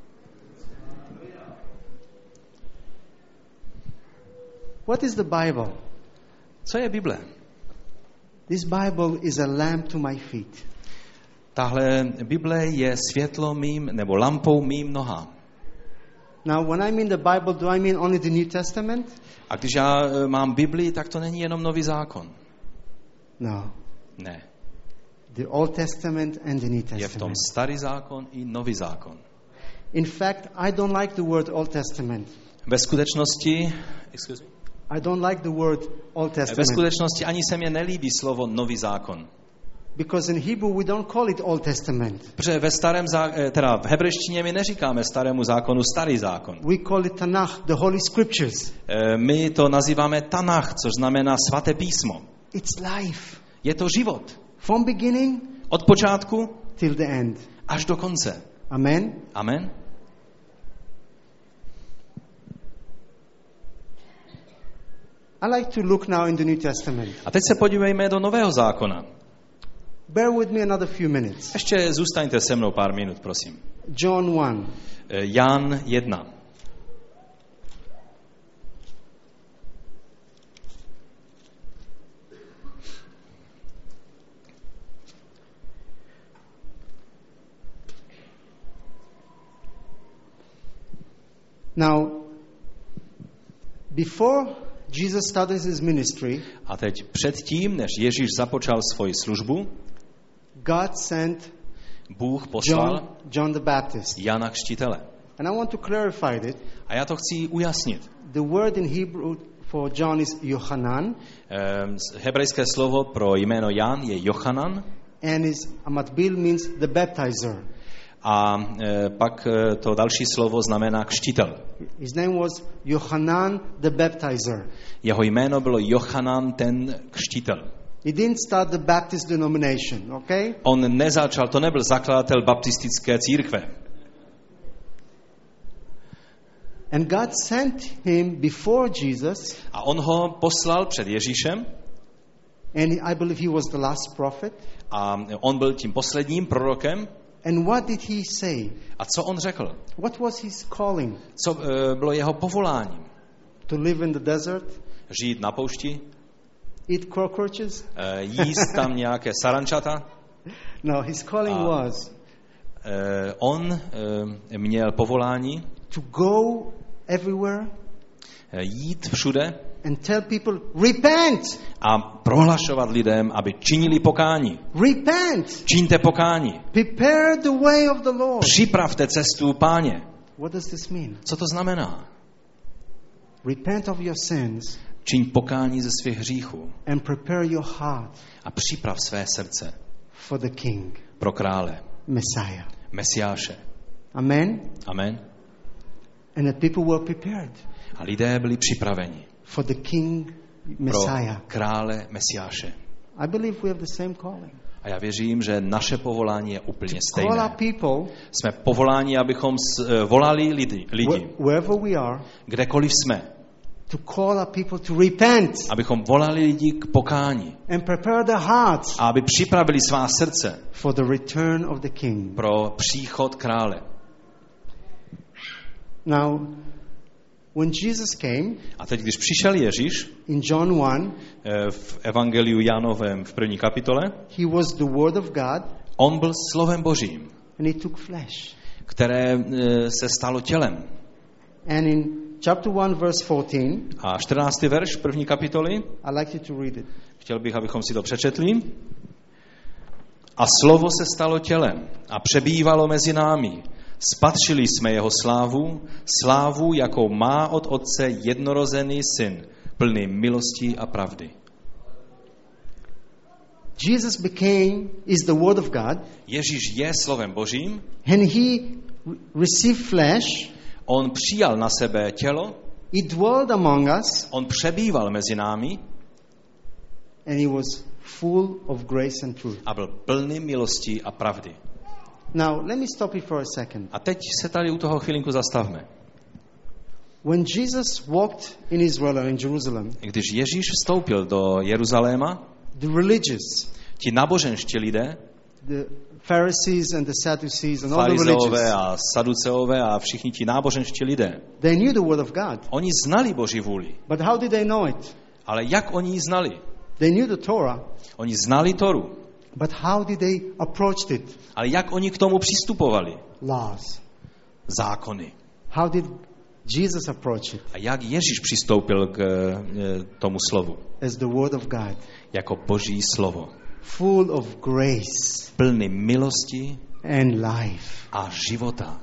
[SPEAKER 1] What is the Bible?
[SPEAKER 2] Co je Bible?
[SPEAKER 1] This Bible is a lamp to my feet.
[SPEAKER 2] Tahle Bible je světlo mým, nebo lampou mým nohám.
[SPEAKER 1] Now, when I mean the Bible, do I mean only the New Testament?
[SPEAKER 2] A když já e, mám Bibli, tak to není jenom nový zákon.
[SPEAKER 1] No.
[SPEAKER 2] Ne.
[SPEAKER 1] The Old Testament and the New
[SPEAKER 2] Je v tom
[SPEAKER 1] Testament.
[SPEAKER 2] starý zákon i nový zákon.
[SPEAKER 1] In fact, I don't like the word Old Testament.
[SPEAKER 2] Ve skutečnosti, excuse me,
[SPEAKER 1] I don't like the word Old
[SPEAKER 2] ve
[SPEAKER 1] Testament.
[SPEAKER 2] skutečnosti ani se mně nelíbí slovo nový zákon.
[SPEAKER 1] Because in Hebrew we don't call it Old Testament.
[SPEAKER 2] Protože ve starém zá, teda v hebrejštině my neříkáme starému zákonu starý zákon.
[SPEAKER 1] We call it Tanakh, the Holy Scriptures.
[SPEAKER 2] E, My to nazýváme Tanach, což znamená svaté písmo.
[SPEAKER 1] It's life.
[SPEAKER 2] Je to život.
[SPEAKER 1] From beginning
[SPEAKER 2] Od počátku
[SPEAKER 1] till the end.
[SPEAKER 2] až do konce.
[SPEAKER 1] Amen?
[SPEAKER 2] Amen.
[SPEAKER 1] I like to look now in the New Testament.
[SPEAKER 2] A teď se podívejme do nového zákona.
[SPEAKER 1] Bear with me another few minutes.
[SPEAKER 2] Ještě zůstaňte se mnou pár minut, prosím.
[SPEAKER 1] John one.
[SPEAKER 2] E, Jan jedna.
[SPEAKER 1] Now, before Jesus started his ministry,
[SPEAKER 2] A teď předtím, než Ježíš započal svoji službu,
[SPEAKER 1] God sent
[SPEAKER 2] Bůh poslal
[SPEAKER 1] John, John the Baptist.
[SPEAKER 2] Jana Křtitele.
[SPEAKER 1] And I want to clarify it.
[SPEAKER 2] A já to chci ujasnit.
[SPEAKER 1] The word in Hebrew for John is Yohanan,
[SPEAKER 2] Ehm, Hebrejské slovo pro jméno Jan je Jochanan
[SPEAKER 1] and his amatbil means the baptizer.
[SPEAKER 2] a e, pak e, to další slovo znamená křtitel.
[SPEAKER 1] His name was Yohanan the baptizer.
[SPEAKER 2] Jeho jméno bylo Jochanan ten křtitel.
[SPEAKER 1] He didn't start the Baptist denomination, okay?
[SPEAKER 2] On nezačal, to nebyl zakladatel baptistické církve.
[SPEAKER 1] And God sent him before Jesus,
[SPEAKER 2] A on ho poslal před Ježíšem
[SPEAKER 1] and I believe he was the last prophet.
[SPEAKER 2] a on byl tím posledním prorokem.
[SPEAKER 1] And what did he say?
[SPEAKER 2] A co on řekl?
[SPEAKER 1] What was his calling?
[SPEAKER 2] Co e, bylo jeho povoláním?
[SPEAKER 1] To live in the desert?
[SPEAKER 2] Žít na poušti?
[SPEAKER 1] Eat cockroaches?
[SPEAKER 2] E, jíst tam nějaké sarančata?
[SPEAKER 1] No, his calling
[SPEAKER 2] Ah.
[SPEAKER 1] was
[SPEAKER 2] E, on e, měl povolání
[SPEAKER 1] to go everywhere
[SPEAKER 2] e, jít všude
[SPEAKER 1] and tell people, repent!
[SPEAKER 2] a prohlašovat lidem, aby činili pokání.
[SPEAKER 1] Repent!
[SPEAKER 2] Čiňte pokání.
[SPEAKER 1] Prepare the way of the Lord.
[SPEAKER 2] Připravte cestu Páně.
[SPEAKER 1] What does this mean?
[SPEAKER 2] Co to znamená?
[SPEAKER 1] Repent of your sins
[SPEAKER 2] Čiň pokání ze svých hříchů
[SPEAKER 1] and prepare your heart
[SPEAKER 2] a připrav své srdce
[SPEAKER 1] for the King,
[SPEAKER 2] pro krále,
[SPEAKER 1] Messiah.
[SPEAKER 2] Mesiáše.
[SPEAKER 1] Amen?
[SPEAKER 2] Amen.
[SPEAKER 1] And the people were prepared
[SPEAKER 2] A lidé byli připraveni
[SPEAKER 1] for the King,
[SPEAKER 2] pro
[SPEAKER 1] Messiah.
[SPEAKER 2] krále Mesiáše.
[SPEAKER 1] I believe we have the same calling.
[SPEAKER 2] A já věřím, že naše povolání je úplně
[SPEAKER 1] Call our
[SPEAKER 2] stejné.
[SPEAKER 1] people,
[SPEAKER 2] Jsme povoláni, abychom s, eh, volali lidi, lidi,
[SPEAKER 1] wh- wherever we are,
[SPEAKER 2] kdekoliv jsme,
[SPEAKER 1] to call our people to repent
[SPEAKER 2] abychom volali lidi k pokání
[SPEAKER 1] and prepare their hearts
[SPEAKER 2] a aby připravili svá srdce
[SPEAKER 1] for the return of the King.
[SPEAKER 2] pro příchod krále.
[SPEAKER 1] Now, when Jesus came
[SPEAKER 2] A teď, když přišel Ježíš
[SPEAKER 1] in John one,
[SPEAKER 2] eh, v Evangeliu Jánovém v první kapitole,
[SPEAKER 1] he was the Word of God,
[SPEAKER 2] On byl slovem Božím,
[SPEAKER 1] and he took flesh.
[SPEAKER 2] které e, se stalo tělem.
[SPEAKER 1] And in chapter one, verse fourteen,
[SPEAKER 2] A čtrnáctý verš první kapitoly,
[SPEAKER 1] I'd like you to read it.
[SPEAKER 2] chtěl bych, abychom si to přečetli. A slovo se stalo tělem a přebývalo mezi námi. Spatřili jsme jeho slávu, slávu, jakou má od Otce jednorozený syn, plný milosti a pravdy.
[SPEAKER 1] Jesus became, is the Word of God,
[SPEAKER 2] Ježíš je slovem Božím,
[SPEAKER 1] and he re- received flesh,
[SPEAKER 2] on přijal na sebe tělo,
[SPEAKER 1] he dwelled among us,
[SPEAKER 2] on přebýval mezi námi
[SPEAKER 1] and he was full of grace and truth.
[SPEAKER 2] a byl plný milosti a pravdy.
[SPEAKER 1] Now, let me stop you for a second.
[SPEAKER 2] A teď se tady u toho chvilinku zastavme.
[SPEAKER 1] When Jesus walked in Israel and in Jerusalem,
[SPEAKER 2] Když Ježíš vstoupil do Jeruzaléma,
[SPEAKER 1] the religious,
[SPEAKER 2] ti náboženští lidé,
[SPEAKER 1] the Pharisees and the Sadducees and all the
[SPEAKER 2] farizeové
[SPEAKER 1] religious,
[SPEAKER 2] a saduceové a všichni ti náboženští lidé,
[SPEAKER 1] they knew the Word of God.
[SPEAKER 2] oni znali Boží vůli.
[SPEAKER 1] But how did they know it?
[SPEAKER 2] Ale jak oni ji znali?
[SPEAKER 1] They knew the Torah,
[SPEAKER 2] Oni znali Toru.
[SPEAKER 1] but how did they approach it?
[SPEAKER 2] Ale jak oni k tomu přistupovali?
[SPEAKER 1] Laws.
[SPEAKER 2] Zákony.
[SPEAKER 1] How did Jesus approach it?
[SPEAKER 2] A jak Ježíš přistoupil k e, tomu slovu?
[SPEAKER 1] As the Word of God,
[SPEAKER 2] Jako Boží slovo.
[SPEAKER 1] full of grace
[SPEAKER 2] Plný milosti
[SPEAKER 1] and life.
[SPEAKER 2] a života.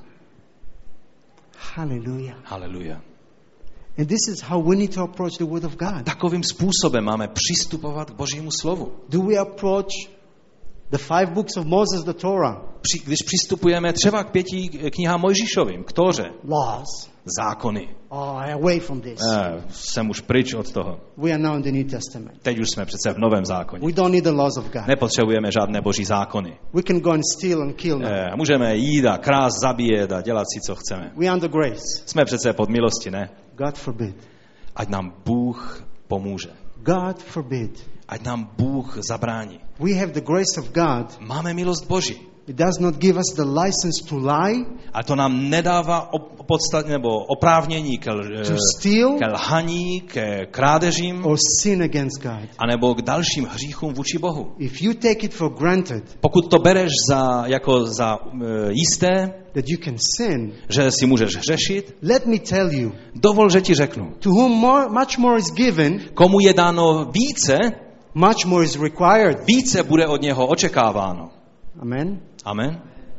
[SPEAKER 1] Hallelujah.
[SPEAKER 2] Haleluja.
[SPEAKER 1] And this is how we need to approach the Word of God.
[SPEAKER 2] Takovým způsobem máme přistupovat k Božímu slovu.
[SPEAKER 1] Do we approach the five books of Moses, the Torah?
[SPEAKER 2] Při, když přistupujeme třeba k pěti knihám Mojžíšovým, k Tóře,
[SPEAKER 1] Laws.
[SPEAKER 2] zákony.
[SPEAKER 1] Oh, away from this.
[SPEAKER 2] Eh, jsem už pryč od toho.
[SPEAKER 1] We are now in the New Testament.
[SPEAKER 2] Teď už jsme přece v Novém zákoně.
[SPEAKER 1] We don't need the laws of God.
[SPEAKER 2] Nepotřebujeme žádné boží zákony.
[SPEAKER 1] We can go and steal and kill now.
[SPEAKER 2] Eh, můžeme jít a krást, zabíjet a dělat si, co chceme.
[SPEAKER 1] We are under grace.
[SPEAKER 2] Jsme přece pod milosti, ne?
[SPEAKER 1] God forbid.
[SPEAKER 2] Ať nám Bůh pomůže.
[SPEAKER 1] God forbid.
[SPEAKER 2] Ať nám Bůh zabrání.
[SPEAKER 1] We have the grace of God.
[SPEAKER 2] Máme milost Boží.
[SPEAKER 1] It does not give us the license to lie,
[SPEAKER 2] A to nám nedává op- podstat, nebo oprávnění ke, l-
[SPEAKER 1] to steal,
[SPEAKER 2] ke lhaní, ke krádežím,
[SPEAKER 1] or sin against God.
[SPEAKER 2] anebo k dalším hříchům vůči Bohu.
[SPEAKER 1] If you take it for granted
[SPEAKER 2] Pokud to bereš za, jako za uh, jisté,
[SPEAKER 1] that you can sin,
[SPEAKER 2] že si můžeš hřešit,
[SPEAKER 1] let me tell you,
[SPEAKER 2] dovol, že ti řeknu.
[SPEAKER 1] to whom more, much more is given,
[SPEAKER 2] Komu je dáno více,
[SPEAKER 1] much more is required.
[SPEAKER 2] více bude od něho očekáváno.
[SPEAKER 1] Amen.
[SPEAKER 2] Amen.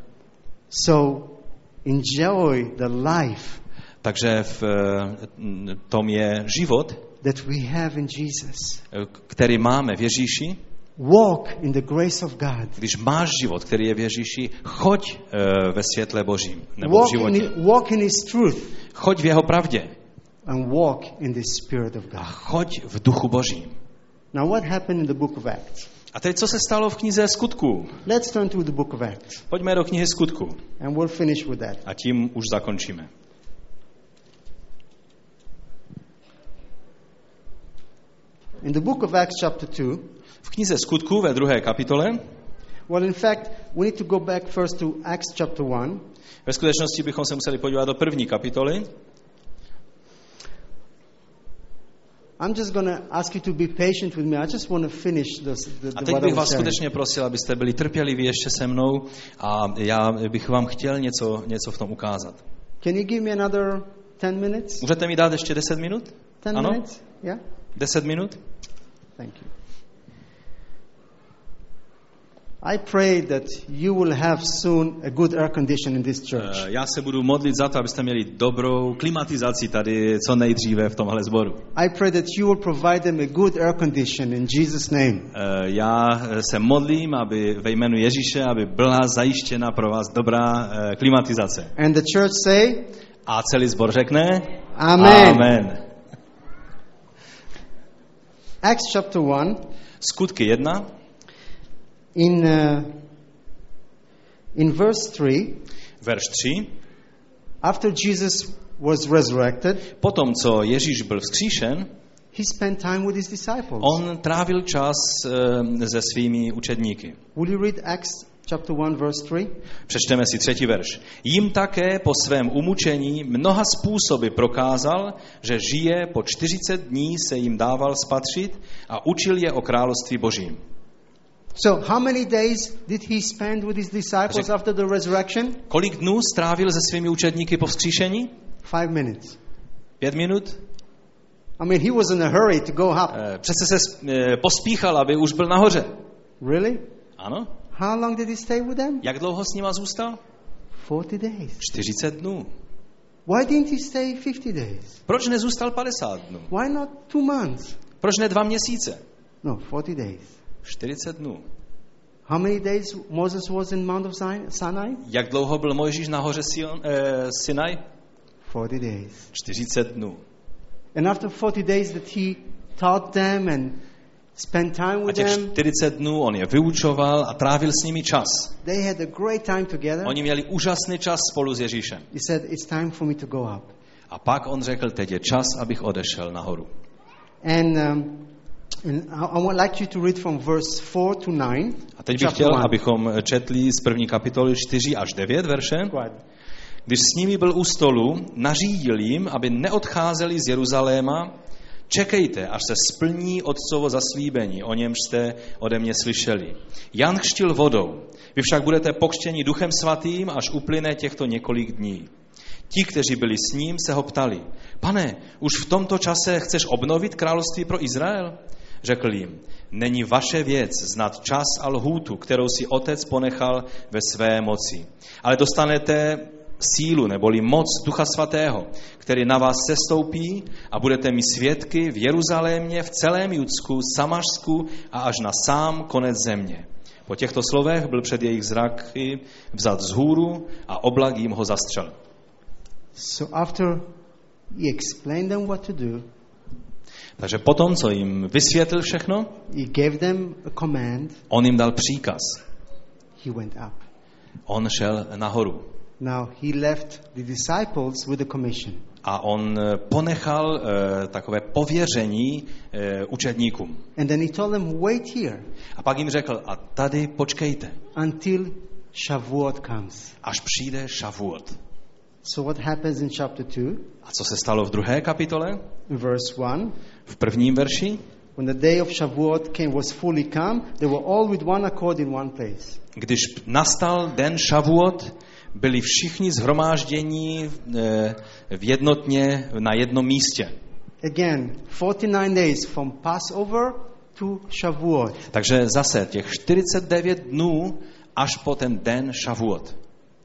[SPEAKER 1] So enjoy the life
[SPEAKER 2] Takže v eh, tom je život,
[SPEAKER 1] that we have in Jesus.
[SPEAKER 2] eh, který máme v Ježíši.
[SPEAKER 1] Walk in the grace of God.
[SPEAKER 2] Když máš život, který je v Ježíši, choď eh, ve světle Božím, nebo v
[SPEAKER 1] Walk in,
[SPEAKER 2] životě.
[SPEAKER 1] it- walk in His truth
[SPEAKER 2] Choď v jeho pravdě
[SPEAKER 1] and walk in the Spirit of
[SPEAKER 2] a
[SPEAKER 1] God.
[SPEAKER 2] choď v duchu Božím.
[SPEAKER 1] Now, what happened in the book of Acts?
[SPEAKER 2] A teď, co se stalo v knize Skutků?
[SPEAKER 1] Let's turn to the book of Acts,
[SPEAKER 2] Pojďme do knihy Skutků
[SPEAKER 1] and we'll finish with that.
[SPEAKER 2] a tím už zakončíme.
[SPEAKER 1] In the book of Acts, chapter two,
[SPEAKER 2] V knize Skutků ve druhé kapitole,
[SPEAKER 1] well, in fact, we need to go back first to Acts chapter one.
[SPEAKER 2] ve skutečnosti bychom se museli podívat do první kapitoly.
[SPEAKER 1] I'm just going to ask you to be patient with me. I just want to finish this, the,
[SPEAKER 2] A
[SPEAKER 1] the
[SPEAKER 2] teď
[SPEAKER 1] what I
[SPEAKER 2] bych
[SPEAKER 1] was
[SPEAKER 2] vás
[SPEAKER 1] sharing.
[SPEAKER 2] skutečně prosil, abyste byli trpěliví ještě se mnou a já bych vám chtěl něco, něco v tom ukázat.
[SPEAKER 1] Can you give me another ten minutes?
[SPEAKER 2] Můžete mi dát ještě deset minut?
[SPEAKER 1] ten
[SPEAKER 2] ano?
[SPEAKER 1] minutes? Yeah?
[SPEAKER 2] deset minut?
[SPEAKER 1] Thank you. I pray that you will have soon a good air condition in this church.
[SPEAKER 2] Eh, Já se budu modlit za to, abyste měli dobrou klimatizaci tady co nejdříve v tomhle sboru.
[SPEAKER 1] I pray that you will provide them a good air condition in Jesus' name.
[SPEAKER 2] Eh, Já se modlím, aby ve jménu Ježíše, aby byla zajištěna pro vás dobrá eh, klimatizace.
[SPEAKER 1] And the church say,
[SPEAKER 2] A celý sbor řekne?
[SPEAKER 1] Amen.
[SPEAKER 2] Amen.
[SPEAKER 1] Acts chapter one,
[SPEAKER 2] Skutky jedna,
[SPEAKER 1] in, uh, in verse three,
[SPEAKER 2] verš tři.
[SPEAKER 1] after Jesus was resurrected,
[SPEAKER 2] Potom, co Ježíš byl vzkříšen,
[SPEAKER 1] he spent time with his disciples.
[SPEAKER 2] on trávil čas eh, se svými učedníky.
[SPEAKER 1] Will you read Acts chapter one, verse three?
[SPEAKER 2] Přečteme si třetí verš. Jim také po svém umučení mnoha způsoby prokázal, že žije, po čtyřicet dní se jim dával spatřit a učil je o království Božím.
[SPEAKER 1] So how many days did he spend with his disciples after the resurrection?
[SPEAKER 2] Kolik dnů strávil se svými učedníky po vzkříšení?
[SPEAKER 1] Five minutes.
[SPEAKER 2] Pět minut?
[SPEAKER 1] I mean, he was in a hurry to go up.
[SPEAKER 2] Přece se pospíchal, aby už byl nahoře.
[SPEAKER 1] Really?
[SPEAKER 2] Ano.
[SPEAKER 1] How long did he stay with them?
[SPEAKER 2] Jak dlouho s nima zůstal?
[SPEAKER 1] forty days.
[SPEAKER 2] čtyřicet dnů.
[SPEAKER 1] Why didn't he stay fifty days?
[SPEAKER 2] Proč nezůstal padesát dnů?
[SPEAKER 1] Why not two months?
[SPEAKER 2] Proč ne dva měsíce?
[SPEAKER 1] No, forty days.
[SPEAKER 2] čtyřicet dnů.
[SPEAKER 1] How many days Moses was in Mount of Sinai?
[SPEAKER 2] Jak dlouho byl Mojžíš na hoře Sion, eh, Sinai?
[SPEAKER 1] forty days.
[SPEAKER 2] čtyřicet dnů.
[SPEAKER 1] And after forty days that he taught them and spent time
[SPEAKER 2] A
[SPEAKER 1] with
[SPEAKER 2] těch
[SPEAKER 1] them,
[SPEAKER 2] čtyřicet dnů on je vyučoval a trávil s nimi čas.
[SPEAKER 1] they had a great time together.
[SPEAKER 2] Oni měli úžasný čas spolu s Ježíšem.
[SPEAKER 1] He said, it's time for me to go up.
[SPEAKER 2] A pak on řekl, teď je čas, abych odešel nahoru.
[SPEAKER 1] And, um, and I, I would like you to read from verse four to nine.
[SPEAKER 2] A teď bych chtěl, abychom četli z první kapitoly čtyři až devět verše. Když s nimi byl u stolu, nařídil jim, aby neodcházeli z Jeruzaléma. Čekejte, až se splní Otcovo zaslíbení, o němž jste ode mě slyšeli. Jan křtil vodou, vy však budete pokřtěni Duchem Svatým, až uplyne těchto několik dní. Ti, kteří byli s ním, se ho ptali, pane, už v tomto čase chceš obnovit království pro Izrael? Řekl jim, není vaše věc znát čas a lhůtu, kterou si Otec ponechal ve své moci. Ale dostanete sílu neboli moc Ducha Svatého, který na vás sestoupí a budete mi svědky v Jeruzalémě, v celém Judsku, Samařsku a až na sám konec země. Po těchto slovech byl před jejich zraky vzat vzhůru a oblak jim ho zastřel.
[SPEAKER 1] So after he explained them what to do,
[SPEAKER 2] takže potom, co jim vysvětlil všechno,
[SPEAKER 1] he gave them a command,
[SPEAKER 2] on jim dal příkaz.
[SPEAKER 1] He went up.
[SPEAKER 2] On šel nahoru.
[SPEAKER 1] Now he left the disciples with the commission.
[SPEAKER 2] A on ponechal uh, takové pověření uh, učedníkům.
[SPEAKER 1] And then he told them, wait here.
[SPEAKER 2] A pak jim řekl, a tady počkejte.
[SPEAKER 1] Until Shavuot comes.
[SPEAKER 2] Až přijde Shavuot.
[SPEAKER 1] So what happens in chapter two?
[SPEAKER 2] A co se stalo v druhé kapitole?
[SPEAKER 1] In verse one.
[SPEAKER 2] V prvním verši?
[SPEAKER 1] When the day of Shavuot came, was fully come, they were all with one accord in one place.
[SPEAKER 2] Když nastal den Shavuot, byli všichni shromáždění v jednotně na jednom místě.
[SPEAKER 1] Again, forty-nine days from Passover to Shavuot.
[SPEAKER 2] Takže zase těch čtyřicet devět dnů až po ten den Shavuot.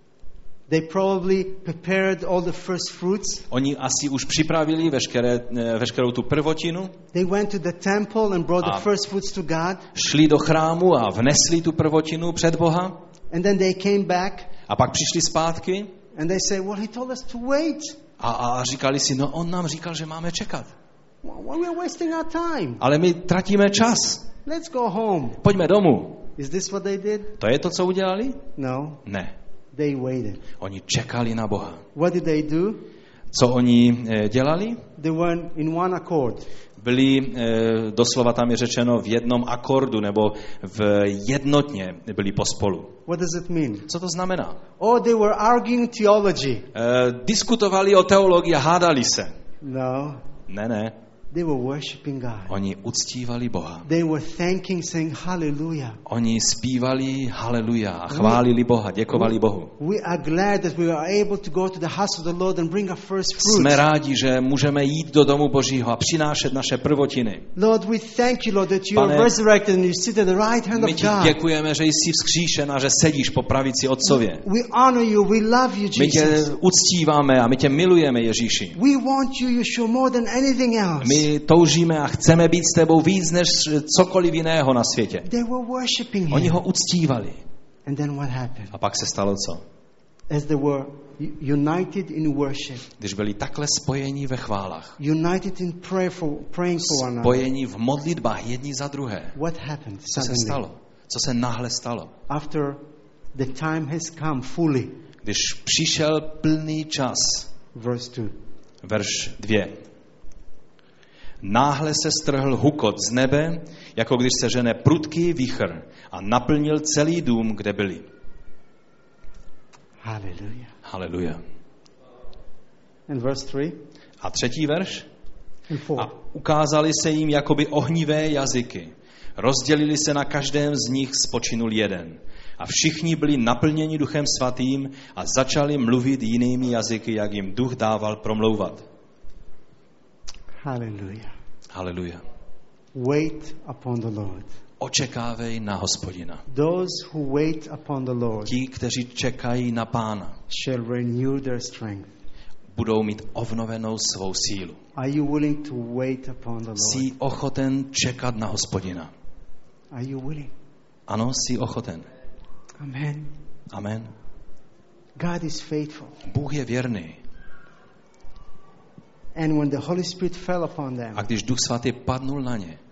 [SPEAKER 1] They probably prepared all the first fruits.
[SPEAKER 2] Oni asi už připravili veškeré, veškerou tu prvotinu.
[SPEAKER 1] They went to the temple and brought the first fruits to God.
[SPEAKER 2] Šli do chrámu a vnesli tu prvotinu před Boha.
[SPEAKER 1] And then they came back.
[SPEAKER 2] A pak přišli zpátky.
[SPEAKER 1] And they say, well, he told us to wait.
[SPEAKER 2] A, a říkali si, no on nám říkal, že máme čekat.
[SPEAKER 1] Well, we are wasting our time.
[SPEAKER 2] Ale my tratíme čas.
[SPEAKER 1] Let's go home.
[SPEAKER 2] Pojďme domů.
[SPEAKER 1] Is this what they did?
[SPEAKER 2] To je to, co udělali?
[SPEAKER 1] No.
[SPEAKER 2] Ne.
[SPEAKER 1] They waited.
[SPEAKER 2] Oni čekali na Boha.
[SPEAKER 1] What did they do?
[SPEAKER 2] Co oni dělali?
[SPEAKER 1] They were in one accord.
[SPEAKER 2] Byli, doslova tam je řečeno, v jednom akordu, nebo v jednotně byli pospolu.
[SPEAKER 1] What does it mean?
[SPEAKER 2] Co to znamená?
[SPEAKER 1] Oh, they were arguing theology.
[SPEAKER 2] Diskutovali o teologii a hádali se.
[SPEAKER 1] No.
[SPEAKER 2] Ne, ne.
[SPEAKER 1] They were worshiping God.
[SPEAKER 2] Oni uctívali Boha.
[SPEAKER 1] They were thanking, saying hallelujah.
[SPEAKER 2] Oni zpívali haleluja a chválili Boha, děkovali Bohu.
[SPEAKER 1] We are glad that we are able to go to the house of the Lord and bring our first fruits.
[SPEAKER 2] Jsme rádi, že můžeme jít do domu Božího a přinášet naše prvotiny.
[SPEAKER 1] Lord, we thank you, Lord, that you are resurrected and you sit at the right hand of God.
[SPEAKER 2] My ti děkujeme, že jsi vzkříšen a že sedíš po pravici Otcově.
[SPEAKER 1] We honor you, we love you, Jesus.
[SPEAKER 2] My tě uctíváme a my tě milujeme, Ježíši.
[SPEAKER 1] We want you, Yeshua, more than anything else.
[SPEAKER 2] My toužíme a chceme být s tebou víc než cokoliv jiného na světě.
[SPEAKER 1] They were worshiping him.
[SPEAKER 2] Oni ho uctívali.
[SPEAKER 1] And then what happened?
[SPEAKER 2] A pak se stalo co?
[SPEAKER 1] As they were united in worship.
[SPEAKER 2] Když byli takhle spojení ve chválách.
[SPEAKER 1] United in prayer for, praying for one another.
[SPEAKER 2] Spojení v modlitbách jedni za druhé.
[SPEAKER 1] What happened?
[SPEAKER 2] Co se stalo? Co se náhle stalo?
[SPEAKER 1] After the time has come fully.
[SPEAKER 2] Když přišel plný čas.
[SPEAKER 1] Verse two.
[SPEAKER 2] Verš dva. Náhle se strhl hukot z nebe, jako když se žene prudký vichr a naplnil celý dům, kde byli.
[SPEAKER 1] Hallelujah.
[SPEAKER 2] Hallelujah.
[SPEAKER 1] And verse three.
[SPEAKER 2] A třetí verš.
[SPEAKER 1] And four.
[SPEAKER 2] A ukázali se jim jakoby ohnivé jazyky. Rozdělili se na každém z nich, spočinul jeden. A všichni byli naplněni Duchem Svatým a začali mluvit jinými jazyky, jak jim Duch dával promlouvat.
[SPEAKER 1] Hallelujah.
[SPEAKER 2] Haleluja.
[SPEAKER 1] Wait upon the Lord.
[SPEAKER 2] Očekávej na Hospodina.
[SPEAKER 1] Those who wait upon the Lord
[SPEAKER 2] Ti, kteří čekají na Pána,
[SPEAKER 1] shall renew their strength.
[SPEAKER 2] budou mít obnovenou svou sílu.
[SPEAKER 1] Are you willing to wait upon the Lord?
[SPEAKER 2] Jsi ochoten čekat na Hospodina?
[SPEAKER 1] Are you willing?
[SPEAKER 2] Ano, jsi ochoten.
[SPEAKER 1] Amen.
[SPEAKER 2] Amen.
[SPEAKER 1] God is faithful.
[SPEAKER 2] Bůh je věrný.
[SPEAKER 1] And when the Holy Spirit fell upon them,
[SPEAKER 2] A když Duch Svatý padnul na ně,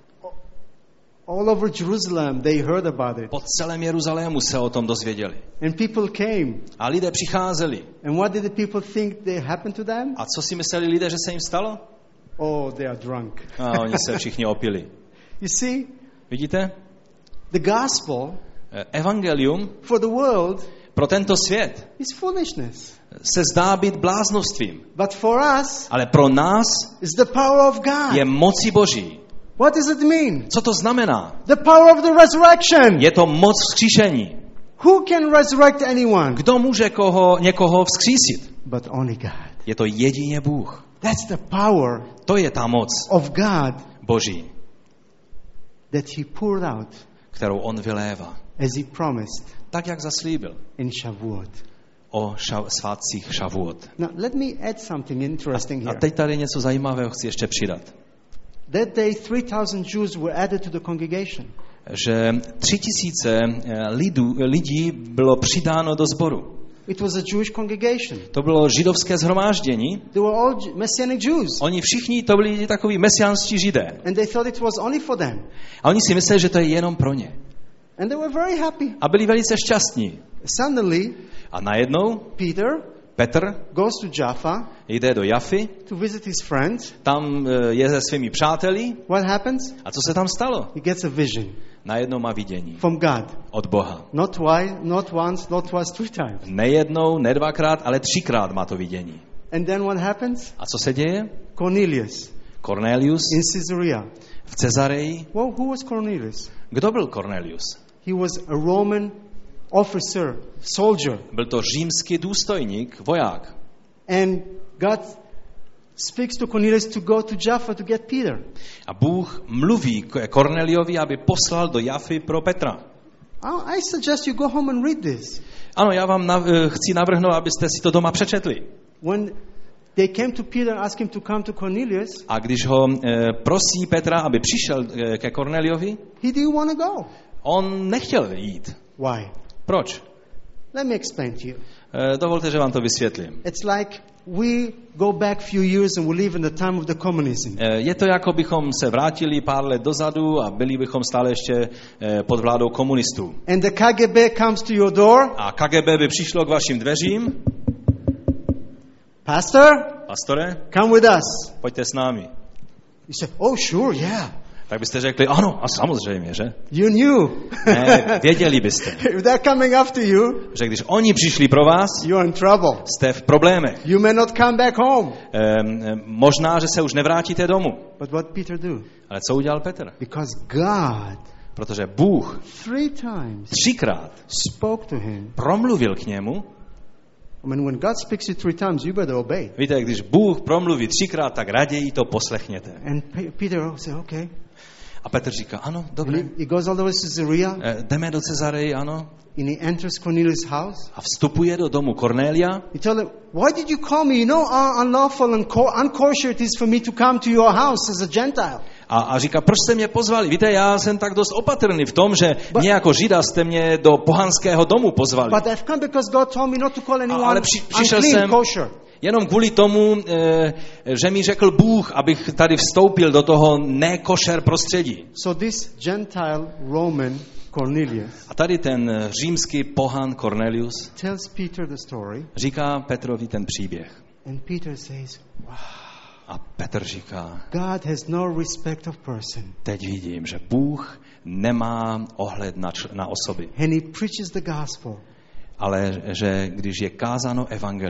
[SPEAKER 1] all over Jerusalem they heard about it.
[SPEAKER 2] po celém Jeruzalému se o tom dozvěděli.
[SPEAKER 1] And people came.
[SPEAKER 2] A lidé přicházeli.
[SPEAKER 1] And what did the people think they happened to them?
[SPEAKER 2] A co si mysleli lidé, že se jim stalo?
[SPEAKER 1] Oh, they are drunk.
[SPEAKER 2] A oni se všichni opili.
[SPEAKER 1] You see,
[SPEAKER 2] Vidíte?
[SPEAKER 1] the gospel
[SPEAKER 2] Evangelium
[SPEAKER 1] for the world
[SPEAKER 2] pro tento svět
[SPEAKER 1] is foolishness.
[SPEAKER 2] se zdá být bláznovstvím.
[SPEAKER 1] But for us,
[SPEAKER 2] Ale pro nás
[SPEAKER 1] it's the power of God.
[SPEAKER 2] je mocí Boží.
[SPEAKER 1] What does it mean?
[SPEAKER 2] Co to znamená?
[SPEAKER 1] The power of the resurrection.
[SPEAKER 2] Je to moc vzkříšení.
[SPEAKER 1] Who can resurrect anyone?
[SPEAKER 2] Kdo může koho, někoho vzkřísit?
[SPEAKER 1] But only God.
[SPEAKER 2] Je to jedině Bůh.
[SPEAKER 1] That's the power
[SPEAKER 2] To je ta moc
[SPEAKER 1] of God
[SPEAKER 2] Boží,
[SPEAKER 1] that He poured out
[SPEAKER 2] kterou on vylévá.
[SPEAKER 1] as He promised
[SPEAKER 2] Tak, jak zaslíbil
[SPEAKER 1] in Shavuot.
[SPEAKER 2] o ša- svátcích Šavuot.
[SPEAKER 1] Now, let me add something interesting
[SPEAKER 2] A
[SPEAKER 1] here.
[SPEAKER 2] teď tady něco zajímavého chci ještě přidat.
[SPEAKER 1] That day, three thousand Jews were added to the congregation.
[SPEAKER 2] Že tři tisíce lidů, lidí bylo přidáno do sboru.
[SPEAKER 1] It was a Jewish congregation.
[SPEAKER 2] To bylo židovské shromáždění.
[SPEAKER 1] They were all J- Messianic Jews.
[SPEAKER 2] Oni všichni to byli takoví mesiánští židé.
[SPEAKER 1] And they thought it was only for them.
[SPEAKER 2] A oni si mysleli, že to je jenom pro ně.
[SPEAKER 1] And they were very happy.
[SPEAKER 2] A byli velice šťastní.
[SPEAKER 1] Suddenly,
[SPEAKER 2] A najednou
[SPEAKER 1] Peter
[SPEAKER 2] Petr
[SPEAKER 1] goes to Jaffa
[SPEAKER 2] jde do Jafy,
[SPEAKER 1] to visit his friends.
[SPEAKER 2] tam je se svými přáteli.
[SPEAKER 1] What happens?
[SPEAKER 2] A co se tam stalo?
[SPEAKER 1] He gets a vision
[SPEAKER 2] Najednou má vidění
[SPEAKER 1] from God.
[SPEAKER 2] od Boha.
[SPEAKER 1] Not twice, not once, not twice, three times.
[SPEAKER 2] Nejednou, ne dvakrát, ale třikrát má to vidění.
[SPEAKER 1] And then what happens?
[SPEAKER 2] A co se děje?
[SPEAKER 1] Cornelius
[SPEAKER 2] Cornelius
[SPEAKER 1] in Caesarea.
[SPEAKER 2] v Cezareji.
[SPEAKER 1] Well, who was Cornelius?
[SPEAKER 2] Kdo byl Cornelius?
[SPEAKER 1] He was a Roman officer, soldier.
[SPEAKER 2] Byl to římský důstojník, voják.
[SPEAKER 1] And God speaks to Cornelius to go to Jaffa to get Peter.
[SPEAKER 2] A Bůh mluví k Korneliovi, aby poslal do Jafy pro Petra.
[SPEAKER 1] I suggest you go home and read this.
[SPEAKER 2] Ano, já vám nav- chci navrhnout, abyste si to doma přečetli.
[SPEAKER 1] When they came to Peter and asked him to come to Cornelius,
[SPEAKER 2] A když ho e, prosí Petra, aby přišel e, ke Korneliovi,
[SPEAKER 1] he didn't want to go.
[SPEAKER 2] on nechtěl jít.
[SPEAKER 1] Why?
[SPEAKER 2] Proč?
[SPEAKER 1] Let me explain to you.
[SPEAKER 2] E, dovolte, že vám to vysvětlím.
[SPEAKER 1] It's like we go back few years and we live in the time of the communism.
[SPEAKER 2] E, je to, jako bychom se vrátili pár let dozadu a byli bychom stále ještě e, pod vládou komunistů.
[SPEAKER 1] And the K G B comes to your door.
[SPEAKER 2] A K G B by přišlo k vašim dveřím.
[SPEAKER 1] Pastor,
[SPEAKER 2] Pastore,
[SPEAKER 1] come with us.
[SPEAKER 2] pojďte s námi.
[SPEAKER 1] You say, oh, sure, yeah.
[SPEAKER 2] Tak byste řekli, ano, a samozřejmě, že?
[SPEAKER 1] You knew.
[SPEAKER 2] Ne, věděli byste,
[SPEAKER 1] If they're coming after you,
[SPEAKER 2] že když oni přišli pro vás,
[SPEAKER 1] you're in trouble.
[SPEAKER 2] jste v problémech.
[SPEAKER 1] You may not come back home.
[SPEAKER 2] Ehm, možná, že se už nevrátíte domů.
[SPEAKER 1] But what Peter do?
[SPEAKER 2] Ale co udělal Petr?
[SPEAKER 1] Because God
[SPEAKER 2] Protože Bůh
[SPEAKER 1] three times
[SPEAKER 2] třikrát
[SPEAKER 1] spoke to him.
[SPEAKER 2] promluvil k němu.
[SPEAKER 1] I mean, when God speaks to you three times, you better obey.
[SPEAKER 2] Víte, když Bůh promluví třikrát, tak raději to poslechněte.
[SPEAKER 1] And Pe- Peter said, okay.
[SPEAKER 2] A Petr říká, ano,
[SPEAKER 1] And
[SPEAKER 2] dobré.
[SPEAKER 1] he, he goes all the way to Caesarea,
[SPEAKER 2] E, jdeme do Cezareji, ano.
[SPEAKER 1] and he enters Cornelius' house.
[SPEAKER 2] A vstupuje do domu Kornélia.
[SPEAKER 1] He told him, why did you call me? You know how unlawful and co- unkosher it is for me to come to your house as a Gentile.
[SPEAKER 2] A, a říká, proč jste mě pozvali? Víte, já jsem tak dost opatrný v tom, že
[SPEAKER 1] But-
[SPEAKER 2] mě jako Žida jste mě do pohanského domu pozvali.
[SPEAKER 1] But I've come because God told me not to call anyone
[SPEAKER 2] ale při- přišel
[SPEAKER 1] unclean,
[SPEAKER 2] jsem-
[SPEAKER 1] kosher.
[SPEAKER 2] Jenom kvůli tomu, e, že mi řekl Bůh, abych tady vstoupil do toho nekošer prostředí.
[SPEAKER 1] So this Gentile Roman Cornelius
[SPEAKER 2] A tady ten římský pohan Cornelius
[SPEAKER 1] tells Peter the story,
[SPEAKER 2] říká Petrovi ten příběh.
[SPEAKER 1] and Peter says, wow,
[SPEAKER 2] A Petr říká,
[SPEAKER 1] God has no respect of person.
[SPEAKER 2] teď vidím, že Bůh nemá ohled na, č- na osoby,
[SPEAKER 1] And he preaches the gospel.
[SPEAKER 2] ale že když je kázáno evangelium,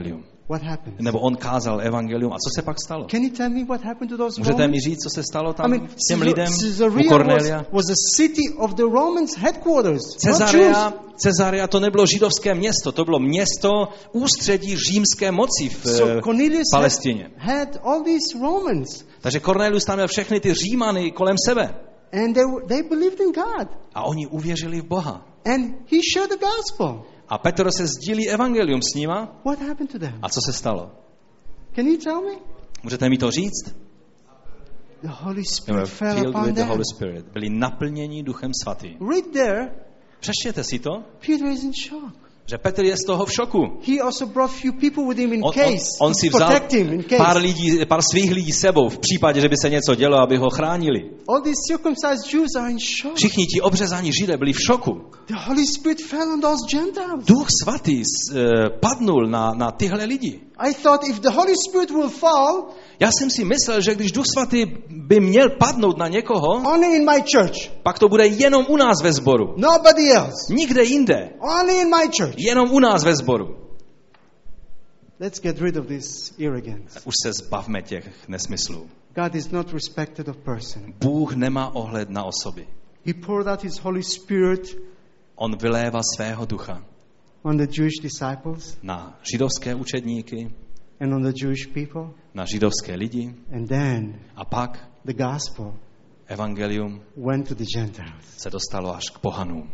[SPEAKER 1] What happened?
[SPEAKER 2] Nebo on kázal evangelium. A co se pak stalo?
[SPEAKER 1] Can you tell me what happened to those
[SPEAKER 2] Můžete
[SPEAKER 1] Romans?
[SPEAKER 2] mi říct, co se stalo
[SPEAKER 1] I
[SPEAKER 2] tam
[SPEAKER 1] mean,
[SPEAKER 2] těm lidem u
[SPEAKER 1] Caesarea
[SPEAKER 2] Cornelia?
[SPEAKER 1] was, was a city of the Romans headquarters. not
[SPEAKER 2] Cezarea,
[SPEAKER 1] Jews.
[SPEAKER 2] Cezarea to nebylo židovské město, to bylo město ústředí římské moci v
[SPEAKER 1] So
[SPEAKER 2] eh,
[SPEAKER 1] Cornelius had,
[SPEAKER 2] Palestině.
[SPEAKER 1] had all these Romans,
[SPEAKER 2] Takže Cornelius tam měl všechny ty Římany kolem sebe.
[SPEAKER 1] and they, were- they believed in God.
[SPEAKER 2] A oni uvěřili v Boha.
[SPEAKER 1] And he shared the gospel.
[SPEAKER 2] A Petr se sdílí evangelium s nima.
[SPEAKER 1] What happened to them?
[SPEAKER 2] A co se stalo?
[SPEAKER 1] Can you tell me?
[SPEAKER 2] Můžete mi to říct?
[SPEAKER 1] The Holy
[SPEAKER 2] They were
[SPEAKER 1] Spirit fell
[SPEAKER 2] filled
[SPEAKER 1] upon
[SPEAKER 2] with the
[SPEAKER 1] them.
[SPEAKER 2] Holy Spirit. Byli naplněni Duchem Svatým.
[SPEAKER 1] Right there,
[SPEAKER 2] Přečtěte si to,
[SPEAKER 1] Peter is in shock.
[SPEAKER 2] že Petr je z toho v šoku.
[SPEAKER 1] He also brought few people with him in
[SPEAKER 2] On, on,
[SPEAKER 1] case
[SPEAKER 2] on
[SPEAKER 1] to
[SPEAKER 2] si vzal
[SPEAKER 1] protect him in case.
[SPEAKER 2] pár, lidí, pár svých lidí sebou v případě, že by se něco dělo, aby ho chránili.
[SPEAKER 1] All these circumcised Jews are in shock.
[SPEAKER 2] Všichni ti obřezaní Židé byli v šoku.
[SPEAKER 1] The Holy Spirit fell on those Gentiles.
[SPEAKER 2] Duch Svatý uh, padnul na, na tyhle lidi.
[SPEAKER 1] I thought if the Holy Spirit will fall,
[SPEAKER 2] Já jsem si myslel, že když Duch Svatý by měl padnout na někoho,
[SPEAKER 1] only in my church.
[SPEAKER 2] pak to bude jenom u nás ve sboru.
[SPEAKER 1] Nobody else.
[SPEAKER 2] Nikde jinde.
[SPEAKER 1] Only in my church.
[SPEAKER 2] Jenom u nás ve sboru.
[SPEAKER 1] Let's get rid of this arrogance.
[SPEAKER 2] Už se zbavme těch nesmyslů.
[SPEAKER 1] God is not respected of person.
[SPEAKER 2] Bůh nemá ohled na osoby.
[SPEAKER 1] He poured out his Holy Spirit
[SPEAKER 2] On vylévá svého ducha
[SPEAKER 1] on the Jewish disciples
[SPEAKER 2] na židovské učedníky,
[SPEAKER 1] and on the Jewish people.
[SPEAKER 2] na židovské lidi
[SPEAKER 1] And then
[SPEAKER 2] a pak
[SPEAKER 1] the gospel
[SPEAKER 2] evangelium
[SPEAKER 1] went to the Gentiles.
[SPEAKER 2] se dostalo až k pohanům.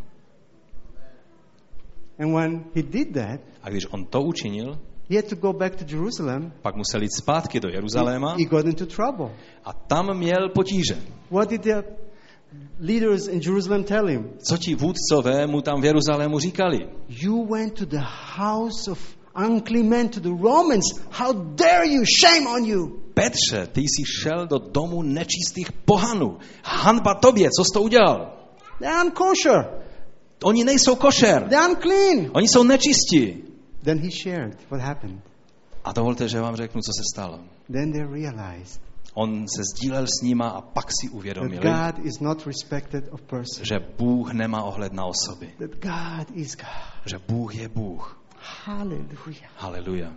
[SPEAKER 1] And when he did that,
[SPEAKER 2] A když on to učinil,
[SPEAKER 1] he had to go back to Jerusalem.
[SPEAKER 2] pak musel jít zpátky do Jeruzaléma
[SPEAKER 1] He got into trouble.
[SPEAKER 2] a tam měl potíže.
[SPEAKER 1] What did the leaders in Jerusalem tell him?
[SPEAKER 2] Co ti vůdcové mu tam v Jeruzalému říkali?
[SPEAKER 1] You went to the house of unclean men, to the Romans. How dare you? Shame on you.
[SPEAKER 2] Petře, ty jsi šel do domu nečistých pohanů. Hanba tobě, co jsi to udělal?
[SPEAKER 1] They're unkosher.
[SPEAKER 2] Oni nejsou košer.
[SPEAKER 1] They're unclean.
[SPEAKER 2] Oni jsou nečistí.
[SPEAKER 1] Then he shared what happened.
[SPEAKER 2] A dovolte, že vám řeknu, co se stalo.
[SPEAKER 1] Then they realized
[SPEAKER 2] On se sdílel s nima a pak si
[SPEAKER 1] that
[SPEAKER 2] uvědomili,
[SPEAKER 1] God is not respected of person.
[SPEAKER 2] že Bůh nemá ohled na osoby.
[SPEAKER 1] That God is God.
[SPEAKER 2] Že Bůh je Bůh.
[SPEAKER 1] Hallelujah.
[SPEAKER 2] Haleluja.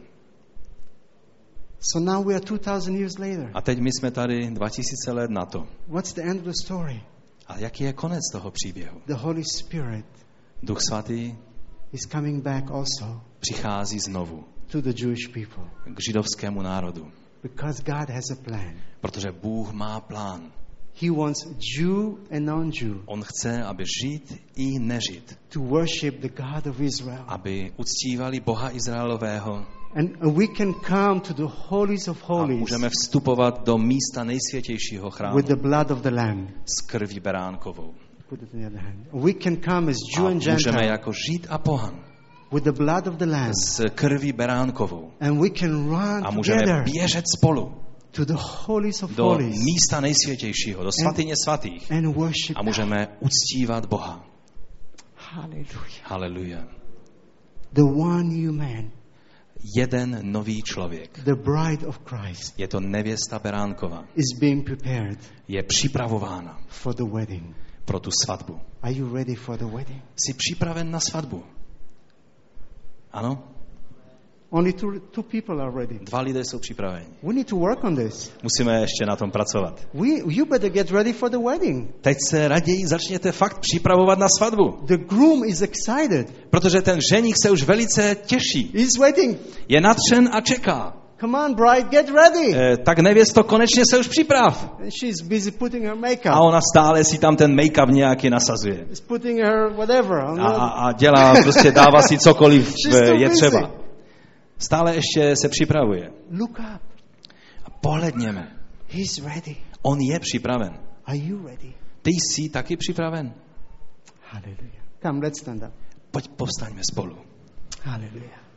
[SPEAKER 1] So now we are two thousand years later.
[SPEAKER 2] A teď my jsme tady dva tisíce let na to.
[SPEAKER 1] What's the end of the story?
[SPEAKER 2] A jaký je konec toho příběhu?
[SPEAKER 1] The Holy Spirit
[SPEAKER 2] Duch Svatý
[SPEAKER 1] is coming back also
[SPEAKER 2] přichází znovu
[SPEAKER 1] to the Jewish people
[SPEAKER 2] k židovskému národu.
[SPEAKER 1] because God has a plan.
[SPEAKER 2] Protože Bůh má plán.
[SPEAKER 1] He wants Jew and non-Jew
[SPEAKER 2] On chce, aby žít i nežít.
[SPEAKER 1] to worship the God of Israel.
[SPEAKER 2] Aby uctívali Boha Izraelového.
[SPEAKER 1] And we can come to the holies of
[SPEAKER 2] A
[SPEAKER 1] holies
[SPEAKER 2] můžeme vstupovat do místa nejsvětějšího chrámu
[SPEAKER 1] with the blood of the Lamb.
[SPEAKER 2] s krví beránkovou.
[SPEAKER 1] Put it in the other hand. We can come as Jew
[SPEAKER 2] A
[SPEAKER 1] and
[SPEAKER 2] můžeme
[SPEAKER 1] Gentile
[SPEAKER 2] jako žít a pohan
[SPEAKER 1] with the blood of the Lamb.
[SPEAKER 2] s krví beránkovou.
[SPEAKER 1] And we can run
[SPEAKER 2] A můžeme
[SPEAKER 1] together
[SPEAKER 2] běžet spolu
[SPEAKER 1] to the holies of
[SPEAKER 2] do
[SPEAKER 1] holies
[SPEAKER 2] místa nejsvětějšího, do svatyně svatých.
[SPEAKER 1] and worship
[SPEAKER 2] A můžeme uctívat Boha.
[SPEAKER 1] Hallelujah.
[SPEAKER 2] Haleluja.
[SPEAKER 1] The one new man,
[SPEAKER 2] Jeden nový člověk.
[SPEAKER 1] the bride of Christ,
[SPEAKER 2] Je to nevěsta beránkova.
[SPEAKER 1] is being prepared
[SPEAKER 2] Je připravována
[SPEAKER 1] for the wedding.
[SPEAKER 2] pro tu svatbu.
[SPEAKER 1] Are you ready for the wedding?
[SPEAKER 2] Jsi připraven na svatbu? Ano?
[SPEAKER 1] Only two, two people are ready.
[SPEAKER 2] Dva lidé jsou připraveni.
[SPEAKER 1] We need to work on this.
[SPEAKER 2] Musíme ještě na tom pracovat.
[SPEAKER 1] We, you better get ready for the wedding.
[SPEAKER 2] Teď se raději začněte fakt připravovat na svatbu.
[SPEAKER 1] The groom is excited.
[SPEAKER 2] Protože ten ženich se už velice těší.
[SPEAKER 1] He's waiting.
[SPEAKER 2] Je nadšen a čeká.
[SPEAKER 1] Come on, bride, get ready.
[SPEAKER 2] E, tak nevěsto, konečně se už připrav.
[SPEAKER 1] And she's busy putting her
[SPEAKER 2] A
[SPEAKER 1] makeup.
[SPEAKER 2] ona stále si tam ten make-up nějaký nasazuje.
[SPEAKER 1] She's putting her whatever. on
[SPEAKER 2] A,
[SPEAKER 1] the-
[SPEAKER 2] a, a dělá, prostě dává si cokoliv
[SPEAKER 1] She's
[SPEAKER 2] e,
[SPEAKER 1] too
[SPEAKER 2] je
[SPEAKER 1] busy.
[SPEAKER 2] třeba. Stále ještě se připravuje.
[SPEAKER 1] Look up.
[SPEAKER 2] A pohledněme.
[SPEAKER 1] He's ready.
[SPEAKER 2] On je připraven.
[SPEAKER 1] Are you ready?
[SPEAKER 2] Ty jsi taky připraven?
[SPEAKER 1] Hallelujah. Come, let's stand up.
[SPEAKER 2] Pojď povstaňme spolu.
[SPEAKER 1] Hallelujah.